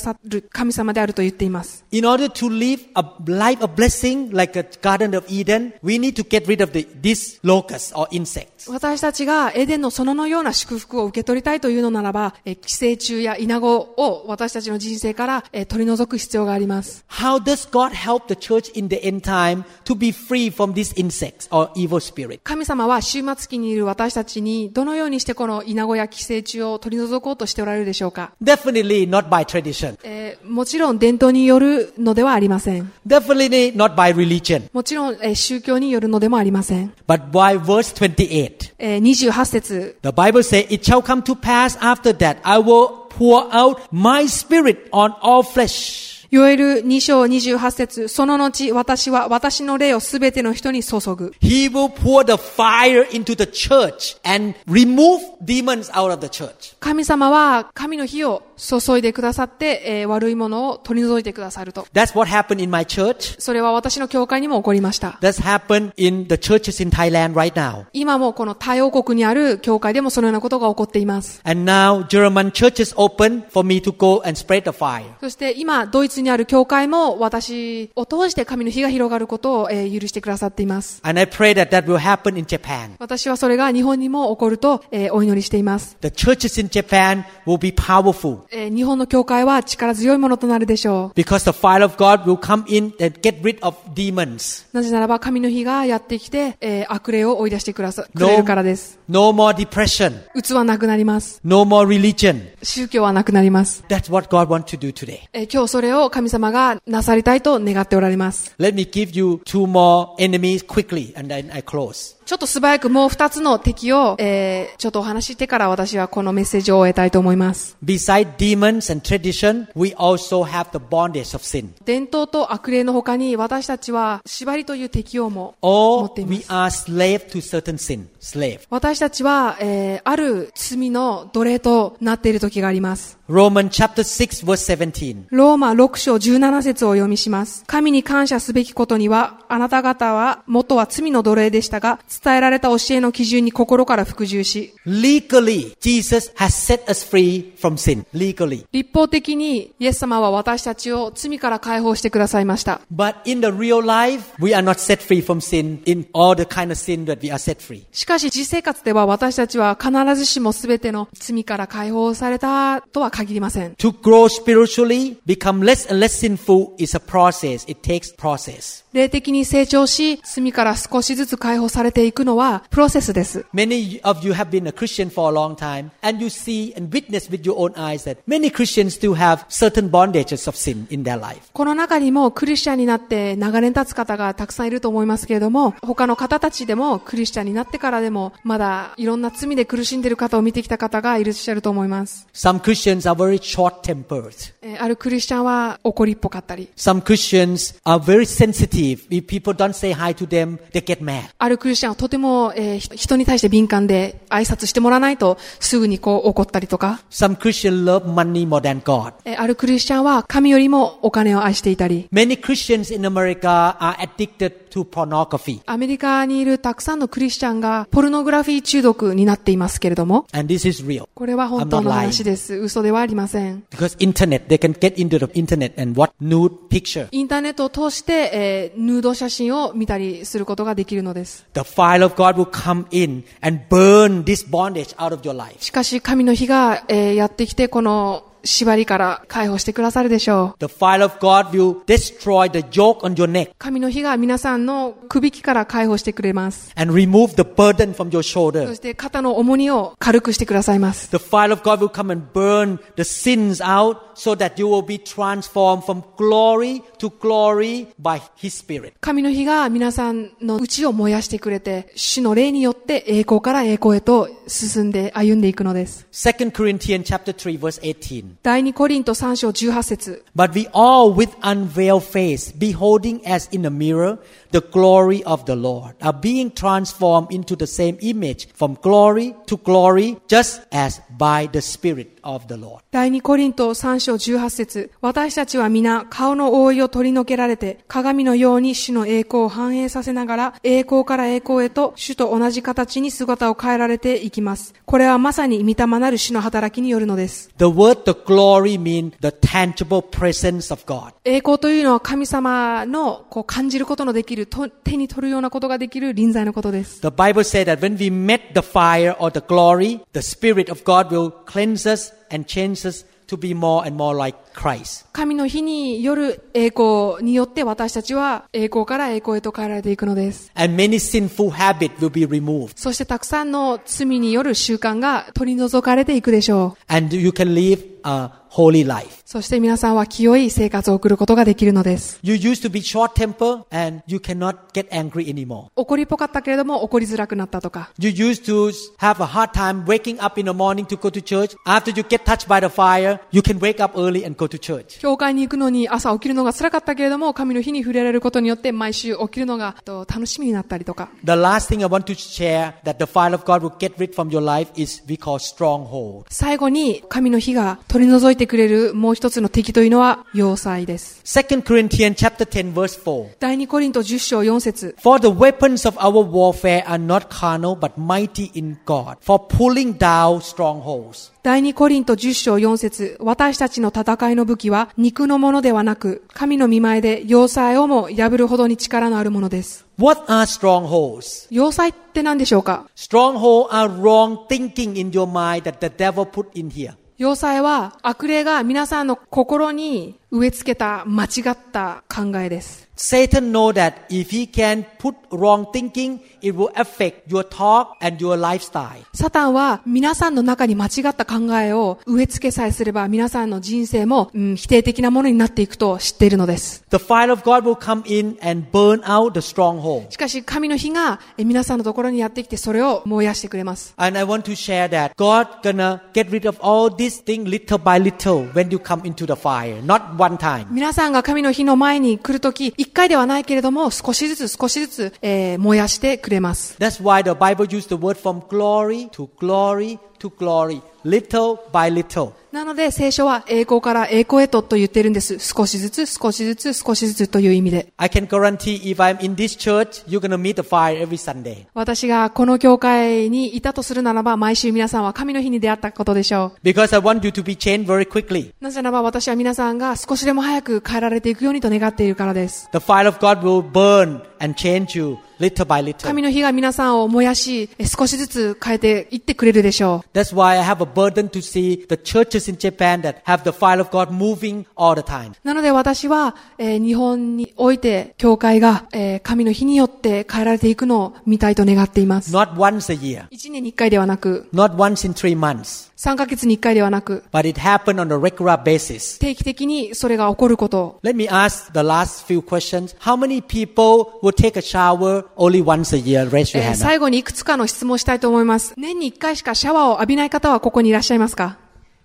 さる神様であると言っています。 In order to live a life of blessing like a Garden of Eden, we need to get rid of these locusts or insects. 私たちがエデンの園のような祝福を受け取りたいというのならば、寄生虫やイナゴを私たちの人生から取り除く必要があります。 How does God help the church in the end time to be free from these insects or evil spirits? 神様は終末期にいる私たちにどのようにしてこのイナゴや寄生虫を取り除こうとしておられるでしょうか。 Definitely not by tradition. もちろん伝統によるのではありません。 Definitely not by religion. もちろん宗教によるのでもありません。 But by verse 28. 28節 The Bible says, It shall come to pass after that I will pour out my spirit on all flesh. ヨエル2章28節その後私は私の霊をすべての人に注ぐ。 He will pour the fire into the church and remove demons out of the church. 神様は神の火を注いでくださって、悪いものを取り除いてくださると。 That's what happened in my church. それは私の教会にも起こりました。 That's happened in the churches in Thailand right now. 今もこのタイ王国にある教会でもそのようなことが起こっています。 And now German churches open for me to go and spread the fire. そして今ドイツにある教会も私を通して神の火が広がることを、許してくださっています。 And I pray that that will happen in Japan. 私はそれが日本にも起こると、お祈りしています。 The churches in Japan will be powerful. 日本の教会は力強いものとなるでしょう。 Because the fire of God will come in and get rid of demons. なぜならば神の火がやってきて、悪霊を追い出してくれるからです。 No more depression. 鬱はなくなります。 No more religion. 宗教はなくなります。 That's what God wants to do today. 今日それを神様がなさりたいと願っておられます。 Let me give you two more enemies quickly and then I close. ちょっと素早くもう2つの敵を、ちょっとお話ししてから私はこのメッセージを終えたいと思います。 Beside demons and tradition, we also have the bondage of sin. 伝統と悪霊の他に私たちは縛りという敵をも持ってい Or ま we す。 are slave to certain sin. Slave. 私たちは、ある罪の奴隷となっている時があります。 Romans chapter 6 verse 17. ローマ6章17節をお読みします。神に感謝すべきことには、あなた方は元は罪の奴隷でしたが、伝えられた教えの基準に心から服従し、 Legally, Jesus has set us free from sin. Legally. 立法的にイエス様は私たちを罪から解放してくださいました。 But in the real life, we are not set free from sin in all the kind of sin that we are set free. しかし実生活では私たちは必ずしも全ての罪から解放されたとは限りません。 To grow spiritually, become less and less sinful is a process. It takes process. 霊的に成長し、罪から少しずつ解放されていくのはプロセスです。 Many of you have been a Christian for a long time, and you see and witness with your own eyes that many Christians still have certain bondages of sin in their life. この中にもクリスチャンになって長年経つ方がたくさんいると思いますけれども、他の方たちでもクリスチャンになってからでもまだいろんな罪で苦しんでいる方を見てきた方がいらっしゃると思います。 Some Christians are very short-tempered. あるクリスチャンは怒りっぽかったり、 Some Christians are very sensitive. If people don't say hi to them, they get mad. あるクリスチャンはとても、人に対して敏感で挨拶してもらわないとすぐに怒ったりとか、 Some Christians love money more than God. あるクリスチャンは神よりもお金を愛していたり、 Many Christians in America are addicted to pornography. アメリカにいるたくさんのクリスチャンがポルノグラフィー中毒になっていますけれども、 And this is real. これは本当の話です。嘘ではありません。 Because internet, they can get into the internet and watch nude picture. インターネットを通して、ヌード写真を見たりすることができるのです。 The fire of God will come in and burn this bondage out of your life. しかし神の火が、やってきてこの縛りから解放してくださるでしょう。 The fire of God will destroy the yoke on your neck 神の火が皆さんの首輝きから解放してくれます。 and remove the burden from your そ shoulder. して肩の重荷を軽くしてくださいます。 The fire of God will come and burn the sins out so that you will be transformed from glory to glory by His Spirit. 神の火が皆さんの内を燃やしてくれて、主の霊によって栄光から栄光へと進んで歩んでいくのです。 2 Corinthians chapter 3 verse 18. 第2コリント3章18節 But we all with unveiled face, beholding as in a mirror the glory of the Lord, are being transformed into the same image from glory to glory, just as by the Spirit of the Lord. 第2コリント3章18節、私たちは皆顔の覆いを取り除けられて、鏡のように主の栄光を反映させながら、栄光から栄光へと主と同じ形に姿を変えられていきます。これはまさに御霊なる主の働きによるのです。 The word the glory means the tangible presence of God. 栄光というのは神様の感じることのできる、手に取るようなことができる臨在のことです。 The Bible says that when we met the fire or the glory, the Spirit of God will cleanse us and change us to be more and more like Christ. 神の日による栄光によって私たちは栄光から栄光へと変えられていくのです。 And many sinful habits will be removed. そしてたくさんの罪による習慣が取り除かれていくでしょう。 And you can live a holy life. そして皆さんは清い生活を送ることができるのです。 You used to be short-tempered and you cannot get angry anymore. 怒りっぽかったけれども怒りづらくなったとか。 You used to have a hard time waking up in the morning to go to church. After you get touched by the fire, you can wake up early and go to church. 教会に行くのに朝起きるのが辛かったけれども、神の日に触れられることによって毎週起きるのが楽しみになったりとか。 The last thing I want to share that the fire of God will get rid from your life is we call stronghold. 最後に神の火が取り除いてくれるもう一つの敵というのは要塞です。 2 Corinthians chapter 10 verse 4. 第2コリント10章4節。 For the weapons of our warfare are not carnal but mighty in God for pulling down strongholds. 第2コリント10章4節。私たちの戦いの武器は肉のものではなく、神の御前で要塞をも破るほどに力のあるものです。 What are strongholds? 要塞って何でしょうか？ Strongholds are wrong thinking in your mind that the devil put in here. 要塞は悪霊が皆さんの心に植え付けた間違った考えです。 Satan knows that if he can put wrong thinking, it will affect your talk and your lifestyle. サタンは皆さんの中に間違った考えを植え付けさえすれば皆さんの人生も、否定的なものになっていくと知っているのです。 The fire of God will come in and burn out the stronghold. しかし神の火が皆さんのところにやってきてそれを燃やしてくれます。 And I want to share that God gonna get rid of all these things little by little when you come into the fire, not one time. 皆さんが神の火の前に来るとき、一回ではないけれども少しずつ燃やしてくれます。 That's why the Bible used the word from glory to glory to glory, little by little. なので聖書は栄光から栄光へと言っているんです。少しずつという意味で。 I can guarantee if I'm in this church, you're gonna meet the fire every Sunday. 私がこの教会にいたとするならば、毎週皆さんは神の日に出会ったことでしょう。 Because I want you to be changed very quickly. なぜならば私は皆さんが少しでも早く変えられていくようにと願っているからです。 The fire of God will burn and change you little by little. 神の火が皆さんを燃やし、少しずつ変えていってくれるでしょう。 That's why I have a burden to see the churches in Japan that have the fire of God moving all the time. なので私は、日本において教会が、神の火によって変えられていくのを見たいと願っています。 Not once a year. 1年に1回ではなく、 Not once in 3 months. 3ヶ月に1回ではなく、 But it happened on a regular basis. 定期的にそれが起こること。 Let me ask the last few questions. How many people will take a shower only once a year? Raise your hand up. 最後にいくつかの質問をしたいと思います。年に1回しかシャワーを浴びない方はここにいらっしゃいますか？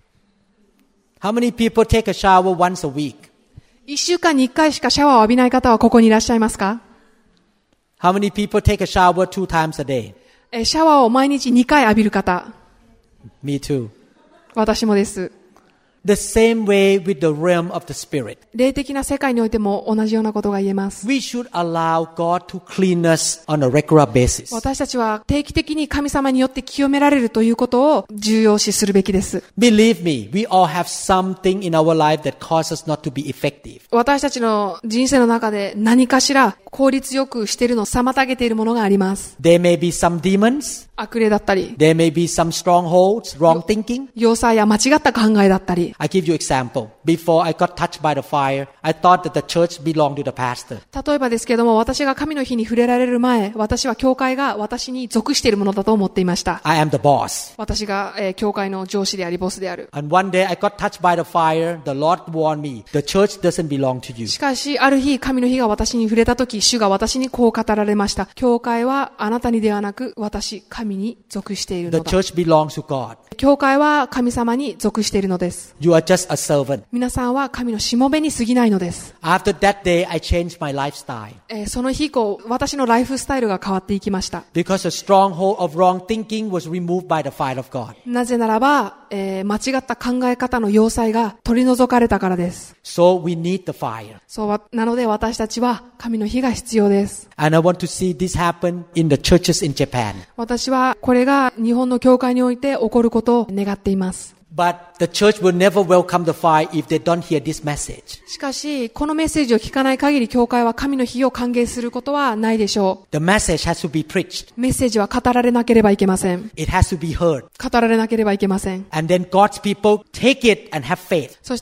How many people take a shower once a week? 1週間に1回しかシャワーを浴びない方はここにいらっしゃいますか？ How many people take a shower 2 times a day? シャワーを毎日2回浴びる方。 Me too. 私もです。 The same way with the realm of the spirit. 霊的な世界においても同じようなことが言えます。 We should allow God to clean us on a regular basis. 私たちは定期的に神様によって清められるということを重要視するべきです。 Believe me, we all have something in our life that causes us not to be effective. 私たちの人生の中で何かしら効率よくしているのを妨げているものがあります。 There may be some demons. 悪霊だったり、 There may be some strongholds, wrong thinking. 要塞や間違った考えだったり。 I give you example. Before I got touched by the fire, I thought that the church belonged to the pastor. 例えばですけれども、私が神の火に触れられる前、私は教会が私に属しているものだと思っていました。 I am the boss. 私が、教会の上司でありボスである。 And one day I got touched by the fire. The Lord warned me, the church doesn't belong to you. しかし、ある日、神の火が私に触れたとき、主が私にこう語られました。教会はあなたにではなく、私、神に属している The のだ。 church belongs to God. 教会は神様に属しているのです。 You are just a servant. 皆さんは神のしもべに過ぎないのです。 After that day, I changed my lifestyle. その日以降、私のライフスタイルが変わっていきました。 Because the stronghold of wrong thinking was removed by the fire of God. なぜならば、間違った考え方の要塞が取り除かれたからです。 So we need the fire. なので私たちは神の火が必要です。 And I want to see this happen in the churches in Japan. 私はこれが日本の教会において起こることを願っています。 But the church will never welcome the fire if they don't hear this message. しかし、このメッセージを聞かない限り、教会は神の火を歓迎することはないでしょう。 The message has to be preached. メッセージは語られなければいけません。 It has to be heard. 語られなければいけません。 And then God's people take it and have faith. そして、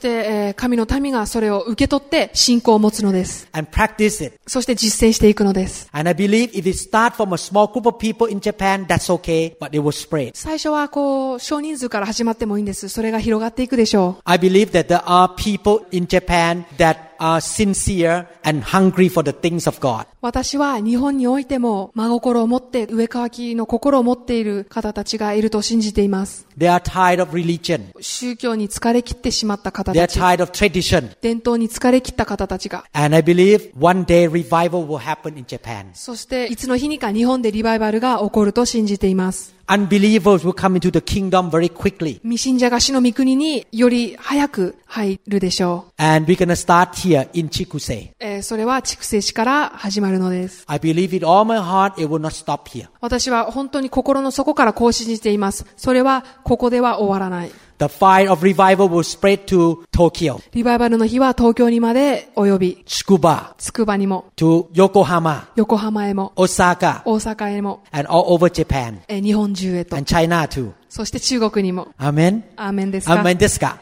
神の民がそれを受け取って信仰を持つのです。 And practice it. そして実践していくのです。 And I believe if it starts from a small group of people in Japan, that's okay, but it will spread. 最初は少人数から始まってもいいんです。それが広がっていくでしょう。 I believe that there are people in Japan that are sincere and hungry for the things of God. 私は日本においても真心を持って上乾きの心を持っている方たちがいると信じています。 They are tired of religion. 宗教に疲れ切ってしまった方 They are たち。 tired of tradition. 伝統に疲れ切った方たちが。 And I believe one day revival will happen in Japan. そしていつの日にか日本でリバイバルが起こると信じています。 Unbelievers will come into the kingdom very quickly. 未信者が死の御国により早く入るでしょう。 And we're going to start here in Chikuse. それは筑西市から始まるのです。 I believe with all my heart it will not stop here. 私は本当に心の底からこう信じています。それはここでは終わらない。 The fire of revival will spread to Tokyo, リバイバルの火は東京にまで及び、 Tsukuba, つくばにも、 to Yokohama, 横浜へも、 Osaka, 大阪へも、 and all over Japan, 日本中へと、 and China too. そして中国にも。 Amen? アーメンですか？ Amen ですか？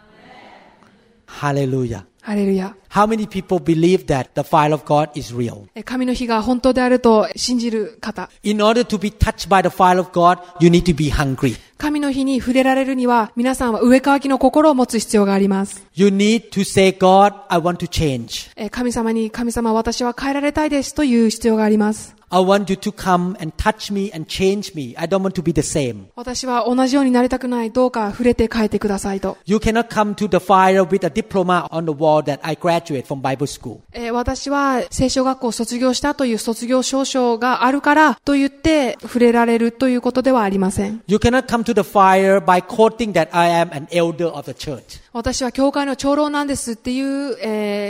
Hallelujah. ハレルヤ。 How many people believe that the fire of God is real? 神の火が本当であると信じる方。 In order to be touched by the fire of God, you need to be hungry. 神の火に触れられるには、皆さんは上乾きの心を持つ必要があります。 You need to say, God, I want to change. 神様に、神様私は変えられたいですという必要があります。 I want you to come and touch me and change me. I don't want to be the same. 私は同じようになりたくない。どうか触れて変えてくださいと。 You cannot come to the fire with a diploma on the wall that I graduate from Bible school. 私は聖書学校を卒業したという卒業証書があるからと言って触れられるということではありません。 You cannot come to the fire by quoting that I am an elder of the church. 私は教会の長老なんですっていう、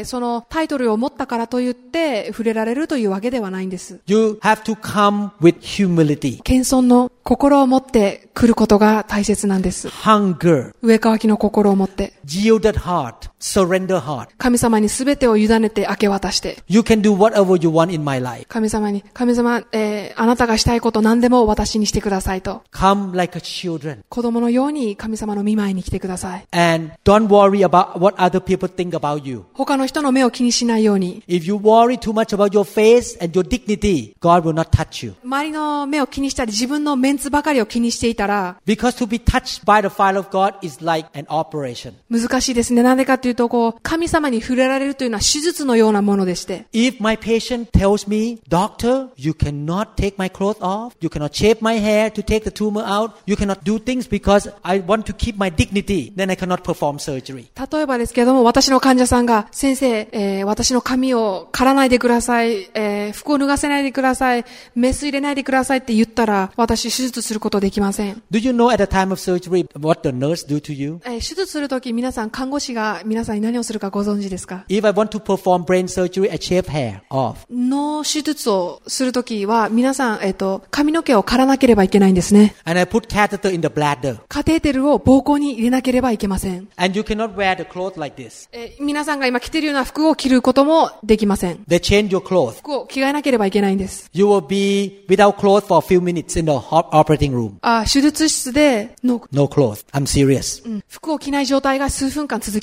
そのタイトルを持ったからと言って触れられるというわけではないんです。 You have to come with humility. 謙遜の心を持って来ることが大切なんです。 Hunger. 上乾きの心を持って。 Yielded heart. Surrender heart. 神様に全てを委ねて明け渡して。 You can do whatever you want in my life. 神様に、神様、あなたがしたいこと何でも私にしてくださいと。 Come like a children. 子供のように神様の御前に来てください。 And don't worry about what other people think about you. 他の人の目を気にしないように。 If you worry too much about your face and your dignity, God will not touch you. 周りの目を気にしたり自分のメンツばかりを気にしていたら、 Because to be touched by the fire of God is like an operation. 難しいですね。なんでかというと、神様に触れられるというのは手術のようなものでして。 If my patient tells me, Doctor, you cannot take my clothes off, you cannot shave my hair to take the tumor out, you cannot do things because I want to keep my dignity, then I cannot perform surgery. 例えばですけれども、私の患者さんが、先生、私の髪を刈らないでください、服を脱がせないでください、メス入れないでくださいって言ったら、私手術することできません。 Do you know at the time of surgery what the nurse do to you? 手術するとき皆さん、看護師が皆さんに何をするかご存知ですか？ If I want to perform brain surgery, I shave hair off. 脳手術をするときは、皆さん、髪の毛を刈らなければいけないんですね。 And I put catheter in the bladder. カテーテルを膀胱に入れなければいけません。 And you cannot wear the clothes like this. 皆さんが今着ているような服を着ることもできません。 They change your clothes. 服を着替えなければいけないんです。 You will be without clothes for a few minutes in the operating room. 手術室で No clothes. I'm serious. 服を着ない状態が数分間続きます。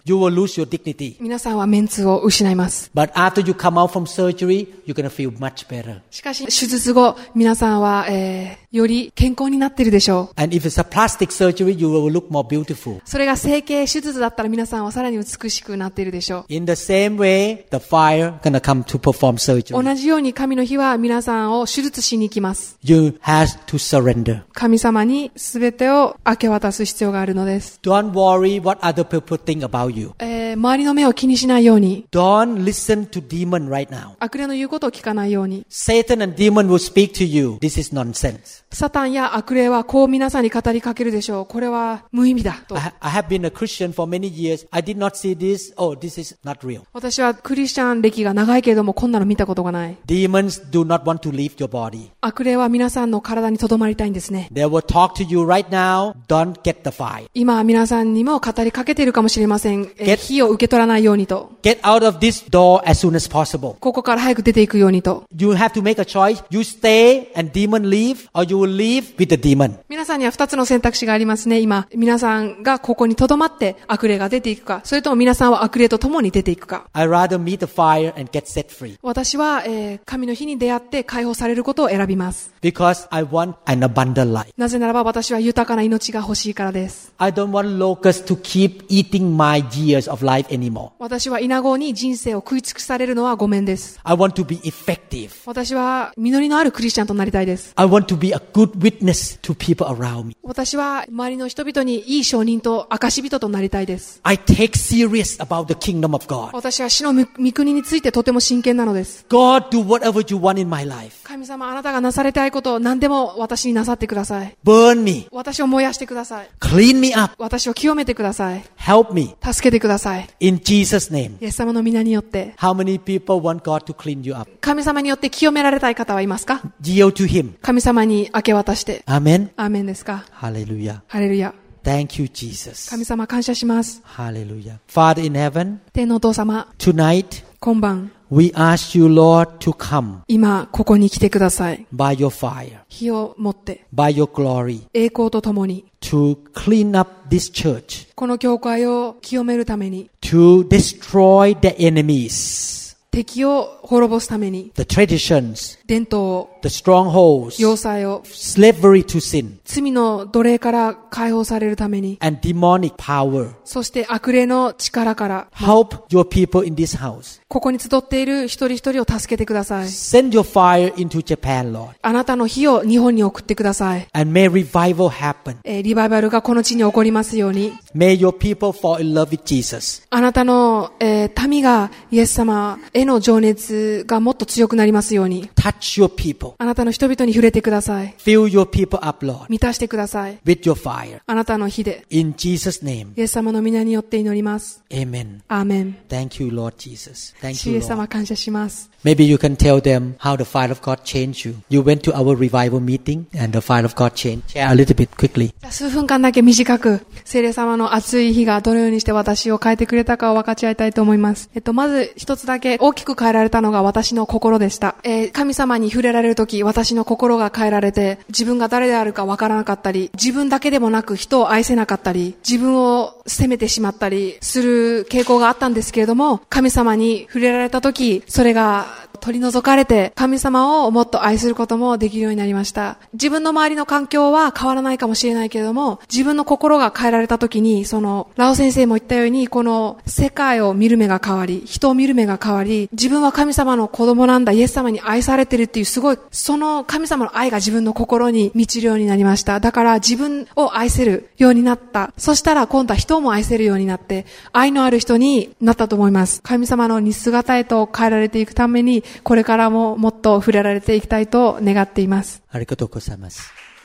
You will lose your dignity. 皆さんはメンツを失います。 But after you come out from surgery, you're going to feel much better. しかし、手術後、皆さんは、より健康になっているでしょう。 And if it's a plastic surgery, you will look more beautiful. それが整形手術だったら皆さんはさらに美しくなっているでしょう。 In the same way, the fire going to come to perform surgery. 同じように神の日は皆さんを手術しに来ます。 You have to surrender. 神様に全てを明け渡す必要があるのです。 Don't worry what other people think about you. 周りの目を気にしないように、 Don't listen to demon right now. 悪霊の言うことを聞かないように、 Satan and demon will speak to you. This is nonsense. サタンや悪霊はこう皆さんに語りかけるでしょう。これは無意味だと。 I have been a Christian for many years. I did not see this. Oh, this is not real. 私はクリスチャン歴が長いけれどもこんなの見たことがない。 Demons do not want to leave your body. 悪霊は皆さんの体に留まりたいんですね。 They will talk to you right now. Don't get the fire. 今皆さんにも語りかけているかもしれません。火を受け取らないようにと。 Get out of this door as soon as possible. ここから早く出ていくようにと。 You have to make a choice. You stay and demon leave, or you will leave with the demon. 皆さんには2つの選択肢がありますね。今、皆さんがここに留まって悪霊が出ていくか、それとも皆さんは悪霊と共に出ていくか。 I rather meet the fire and get set free. 私は、神の日に出会って解放されることを選びます。 Because I want an abundant life. なぜならば私は豊かな命が欲しいからです。 I don't want locusts to keep eating my years of life anymore. 私は稲子に人生を食い尽くされるのはごめんです。 I want to be effective. 私は実りのあるクリスチャンとなりたいです。 I want to be a good witness to people around me. 私は周りの人々にいい証人と証人となりたいです。 I take serious about the kingdom of God. 私は主の御国についてとても真剣なのです。 God, do whatever you want in my life. 神様、あなたがなされたいことを何でも私になさってください。 Burn me. 私を燃やしてください。 Clean me up. 私を清めてください。 Help me. 助けてください。 In Jesus' name. イエス様の皆によって。 How many people want God to clean you up? 神様によって清められたい方はいますか？ Yield to Him. 神様に明け渡して。 Amen. アーメンですか？ Hallelujah. ハレルヤ。 Thank you, Jesus. 神様感謝します。 Hallelujah. Father in heaven, 天のお父様、 tonight 今晩、 we ask you, Lord, to come 今ここに来てください。 by your fire, 火を持って、 by your glory, 栄光とともに、 to clean up this church, この教会を清めるために、 to destroy the enemies, 敵を滅ぼすために、 the traditions, 伝統を、 the strongholds, 要塞を、 slavery to sin, 罪の奴隷から解放されるために、 and demonic power. そして悪霊の力から、 Help your people in this house. ここに集っている一人一人を助けてください。 Send your fire into Japan, Lord. あなたの火を日本に送ってください。 And may revival happen. リバイバルがこの地に起こりますように。 May your people fall in love with Jesus. あなたの、民がイエス様への情熱がもっと強くなりますように。 Touch your people. あなたの人々に触れてください。 Fill your people up, Lord, 満たしてください。 with your fire. あなたの火で。 In Jesus' name. イエス様の皆によって祈ります。 Amen. アーメン。 Thank you, Lord Jesus. 主 Thank イ you, エス様 Lord. 感謝します。 Maybe you can tell them how the fire of God changed you. You went to our revival meeting and the fire of God changed. Share a little bit quickly. 数分間だけ短く、聖霊様の熱い火がどのようにして私を変えてくれたかを分かち合いたいと思います。まず一つだけ大きく変えられたのが私の心でした。神様に触れられるとき、私の心が変えられて、自分が誰であるか分からなかったり、自分だけでもなく人を愛せなかったり、自分を責めてしまったりする傾向があったんですけれども、神様に触れられたとき、それが取り除かれて、神様をもっと愛することもできるようになりました。自分の周りの環境は変わらないかもしれないけれども、自分の心が変えられた時に、ラオ先生も言ったように、この世界を見る目が変わり、人を見る目が変わり、自分は神様の子供なんだ、イエス様に愛されてるっていうすごい、その神様の愛が自分の心に満ちるようになりました。だから自分を愛せるようになった。そしたら今度は人も愛せるようになって、愛のある人になったと思います。神様の似姿へと変えられていくために、これからももっと触れられていきたいと願っています。 ありがとうございます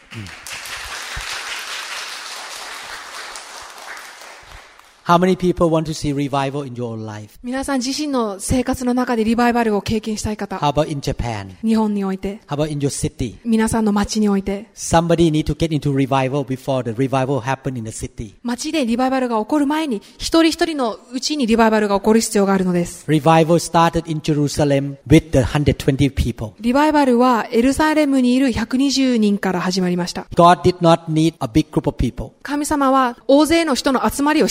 。How many people want to see revival in your life? 皆さん自身の生活の中でリバイバルを経験したい方。 How about in Japan? 日本において。 How about in your city? 皆さんの街において。 Somebody need to get into revival before the revival happen in the city. 街でリバイバルが起こる前に、一人一人のうちにリバイバルが起こる必要があるのです。 Revival started in Jerusalem with the 120 people. リバイバルはエルサレムにいる120人から始まりました。 God did not need a big group of people. 神様は大勢の人の集まりを必要とは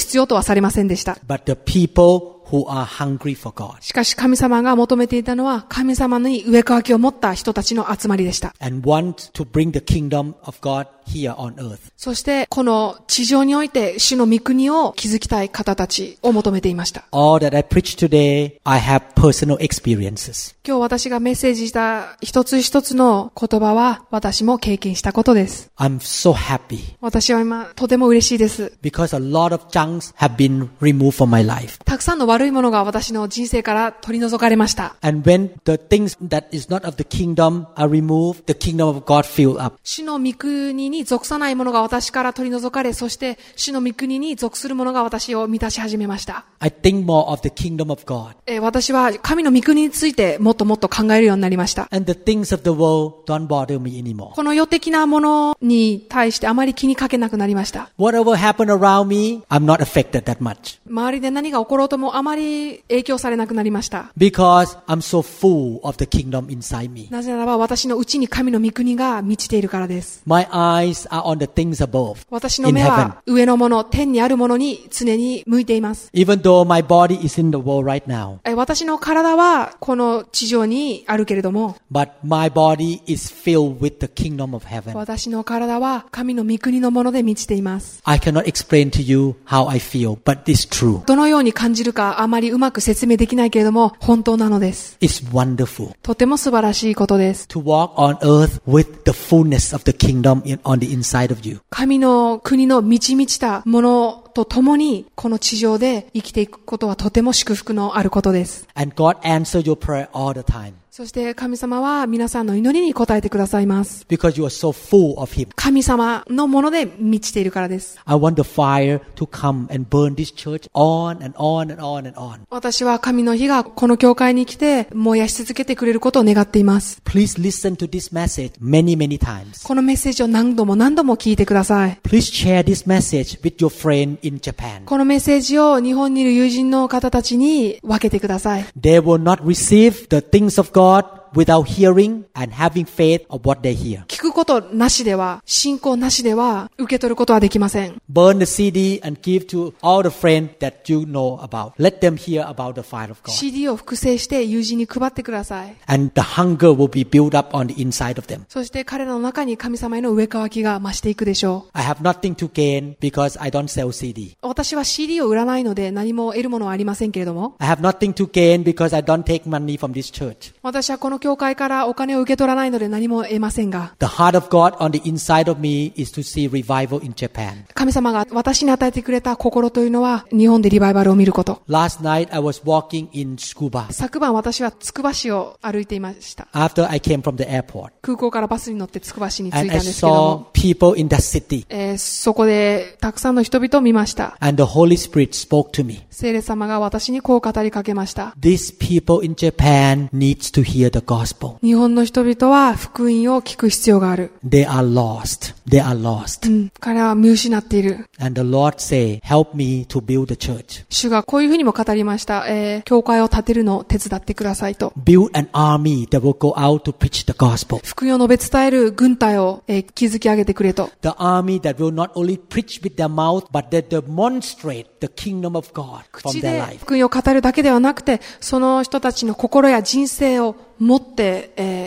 されませんでした。 but the people who are hungry for God しかし神様が求めていたのは神様に上渇きを持った人たちの集まりでした。 and want to bring the kingdom of God here on earth. そしてこの地上において主の御国を築きたい方たちを求めていました。 All that I preach today, I have personal experiences. 今日私がメッセージした一つ一つの言葉は私も経験したことです。 I'm so happy 私は今とても嬉しいです。 because a lot of junks have been removed from my life. たくさんの悪いものが私の人生から取り除かれました。 And when the things that is not of the kingdom are removed, the kingdom of God fill up. 主の御国に属さないものが私から取り除かれ、そして主の御国に属するものが私を満たし始めました。 I think more of the kingdom of God. 私は神の御国についてもっともっと考えるようになりました。 And the things of the world don't bother me anymore. この世的なものに対してあまり気にかけなくなりました。 Whatever happened around me, I'm not affected that much. 周りで何が起ころうともあまり影響されなくなりました。 Because I'm so full of the kingdom inside me. なぜならば私のうちに神の御国が満ちているからです。 My eyes are on the things above, 私の in 目 heaven. は上のもの、天にあるものに常に向いています。 Even though my body is in the world right now, 私の体はこの地上にあるけれども、 but my body is filled with the kingdom of heaven. 私の体は神の御国のもので満ちています。 I cannot explain to you how I feel, but it's true. どのように感じるかあまりうまく説明できないけれども、本当なのです。 It's wonderful とても素晴らしいことです。 to walk on earth with the fullness of the kingdom on the inside of you. 神の国の満ち満ちたものと共にこの地上で生きていくことはとても祝福のあることです。 And God answers your prayer all the time そして神様は皆さんの祈りに応えてくださいます。 because you are so full of Him. 神様のもので満ちているからです。 I want the fire to come and burn this church on and on and on and on. 私は神の火がこの教会に来て燃やし続けてくれることを願っています。 Please listen to this message many, many times. このメッセージを何度も何度も聞いてください。 Please share this message with your friend in Japan. このメッセージを日本にいる友人の方たちに分けてください。 They will not receive the things of God without hearing and having faith of what they hear. 聞くことなしでは、信仰なしでは受け取ることはできません。 Burn the CD and give to all the friends that you know about. Let them hear about the fire of God. CD を複製して友人に配ってください。 And the hunger will be built up on the inside of them. そして彼らの中に神様への上渇きが増していくでしょう。 I have nothing to gain because I don't sell CD. 私は CD を売らないので何も得るものはありませんけれども、 I have nothing to gain because I don't take money from this church. 私はこの教会からお金を受け取らないので何も得ませんが、 The heart of God on the inside of me is to see revival in Japan. 神様が私に与えてくれた心というのは日本でリバイバルを見ること。 Last night I was walking in Tsukuba 昨晩私はつくば市を歩いていました。 after I came from the airport. 空港からバスに乗ってつくば市に着い And た I んですけど saw も、 people in that city. そこでたくさんの人々を見ました。 And the Holy Spirit spoke to me. 聖霊様が私にこう語りかけました。 These people in Japan needs to hear the gospel. 日本の人々は福音を聞く必要がある。 They are lost. They are lost. 彼は見失っている。 And the Lord say, help me to build the church. 主がこういうふうにも語りました。教会を建てるのを手伝ってくださいと。 Build an army that will go out to preach the gospel. 福音を述べ伝える軍隊を、築き上げてくれと。 The army that will not only preach with their mouth, but that demonstrate the kingdom of God from 口 their で life. 福音を語るだけではなくて、その人たちの心や人生を持って、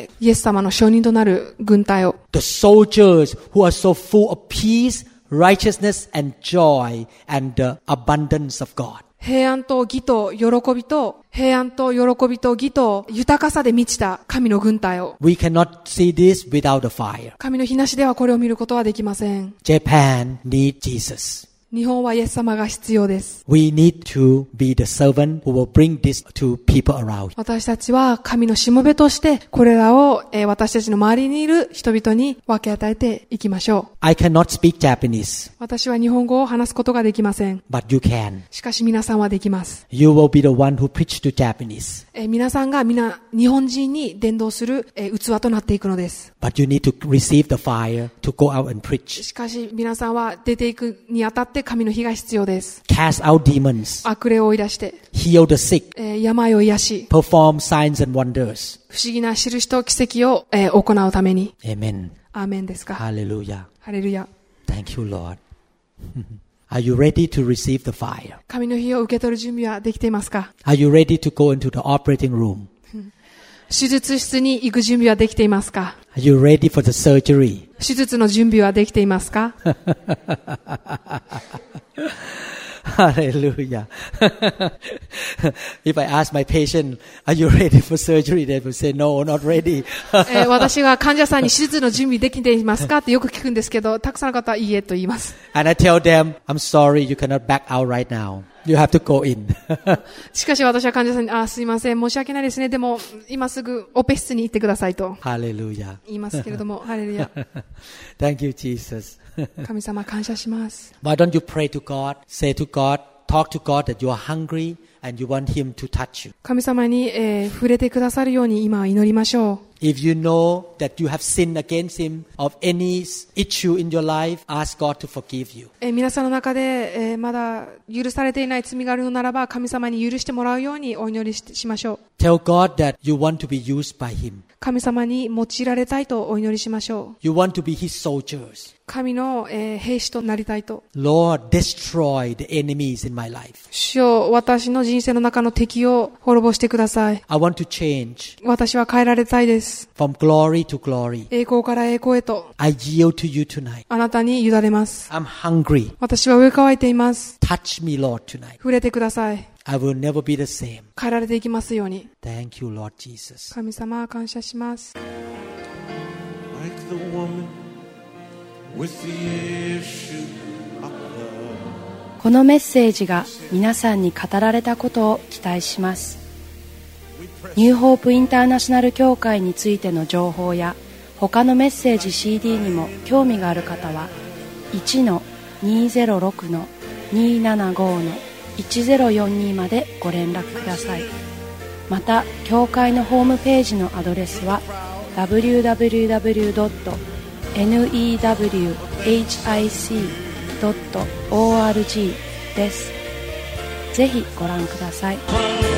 イエス様の証人となる軍隊を。 The soldiers who are so full of peace, righteousness, and joy, and the abundance of God. 平安と義と喜びと、平安と喜びと義と豊かさで満ちた神の軍隊を。 We cannot see this without the fire. 神の日なしではこれを見ることはできません。 Japan needs Jesus. 日本はイエス様が必要です。 We need to be the servant who will bring this to people around. 私たちは神のしもべとしてこれらを、私たちの周りにいる人々に分け与えていきましょう。 I cannot speak Japanese, 私は日本語を話すことができません。 but you can. しかし皆さんはできます。 You will be the one who preach to Japanese. 皆さんが皆日本人に伝道する、器となっていくのです。 But you need to receive the fire to go out and preach. しかし皆さんは出ていくにあたって神の火が必要です。 Cast out demons. 悪霊を追い出して、 Heal the sick. 病を癒し、 Perform signs and wonders. 不思議な印と奇跡を、行うために。 Amen. アーメンですか。 Hallelujah. ハレルヤ。 Thank you, Lord. Are you ready to receive the fire? 神の火を受け取る準備はできていますか？ Are you ready to go into the operating room? 手術室に行く準備はできていますか？ Are you ready for the surgery? 手術の準備はできていますか？ Hallelujah. If I ask my patient, are you ready for surgery? They will say, no, not ready. 私が患者さんに手術の準備できていますかってよく聞くんですけど、たくさんの方はいいえと言います。 And I tell them, I'm sorry, you cannot back out right now. You have to go in. しかし私は患者さんに、すいません、申し訳ないですね。でも、今すぐオペ室に行ってくださいと Hallelujah. 言いますけれども、ハレルヤ。 Thank you, Jesus. 神様感謝します。 Why don't you pray to God, say to God, talk to God that you are hungry and you want Him to touch you. 神様に、触れてくださるように今祈りましょう。 If you know that you have sinned against Him of any issue in your life, ask God to forgive you. 皆さんの中で、まだ許されていない罪があるのならば、神様に許してもらうようにお祈りしましょう。 Tell God that you want to be used by Him. 神様に用いられたいとお祈りしましょう。 You want to be His soldiers. 神の、兵士となりたいと。 Lord, destroy the enemies in my life. 主よ、私の人生の中の敵を滅ぼしてください。 I want to change 私は変えられたいです。 from glory to glory. 栄光から栄光へと。 I yield to you tonight. あなたに委ねます。 I'm hungry. 私は飢え渇いています。 Touch me, Lord, tonight. 触れてください。 I will never be the same. 変えられていきますように。 Thank you, Lord Jesus. 神様、感謝します。 Like the woman with the issue of blood. このメッセージが皆さんに語られたことを期待します。ニューホープインターナショナル協会についての情報や他のメッセージ CD にも興味がある方は 1-206-275-1042 までご連絡ください。また協会のホームページのアドレスは www.newhic.org です。ぜひご覧ください。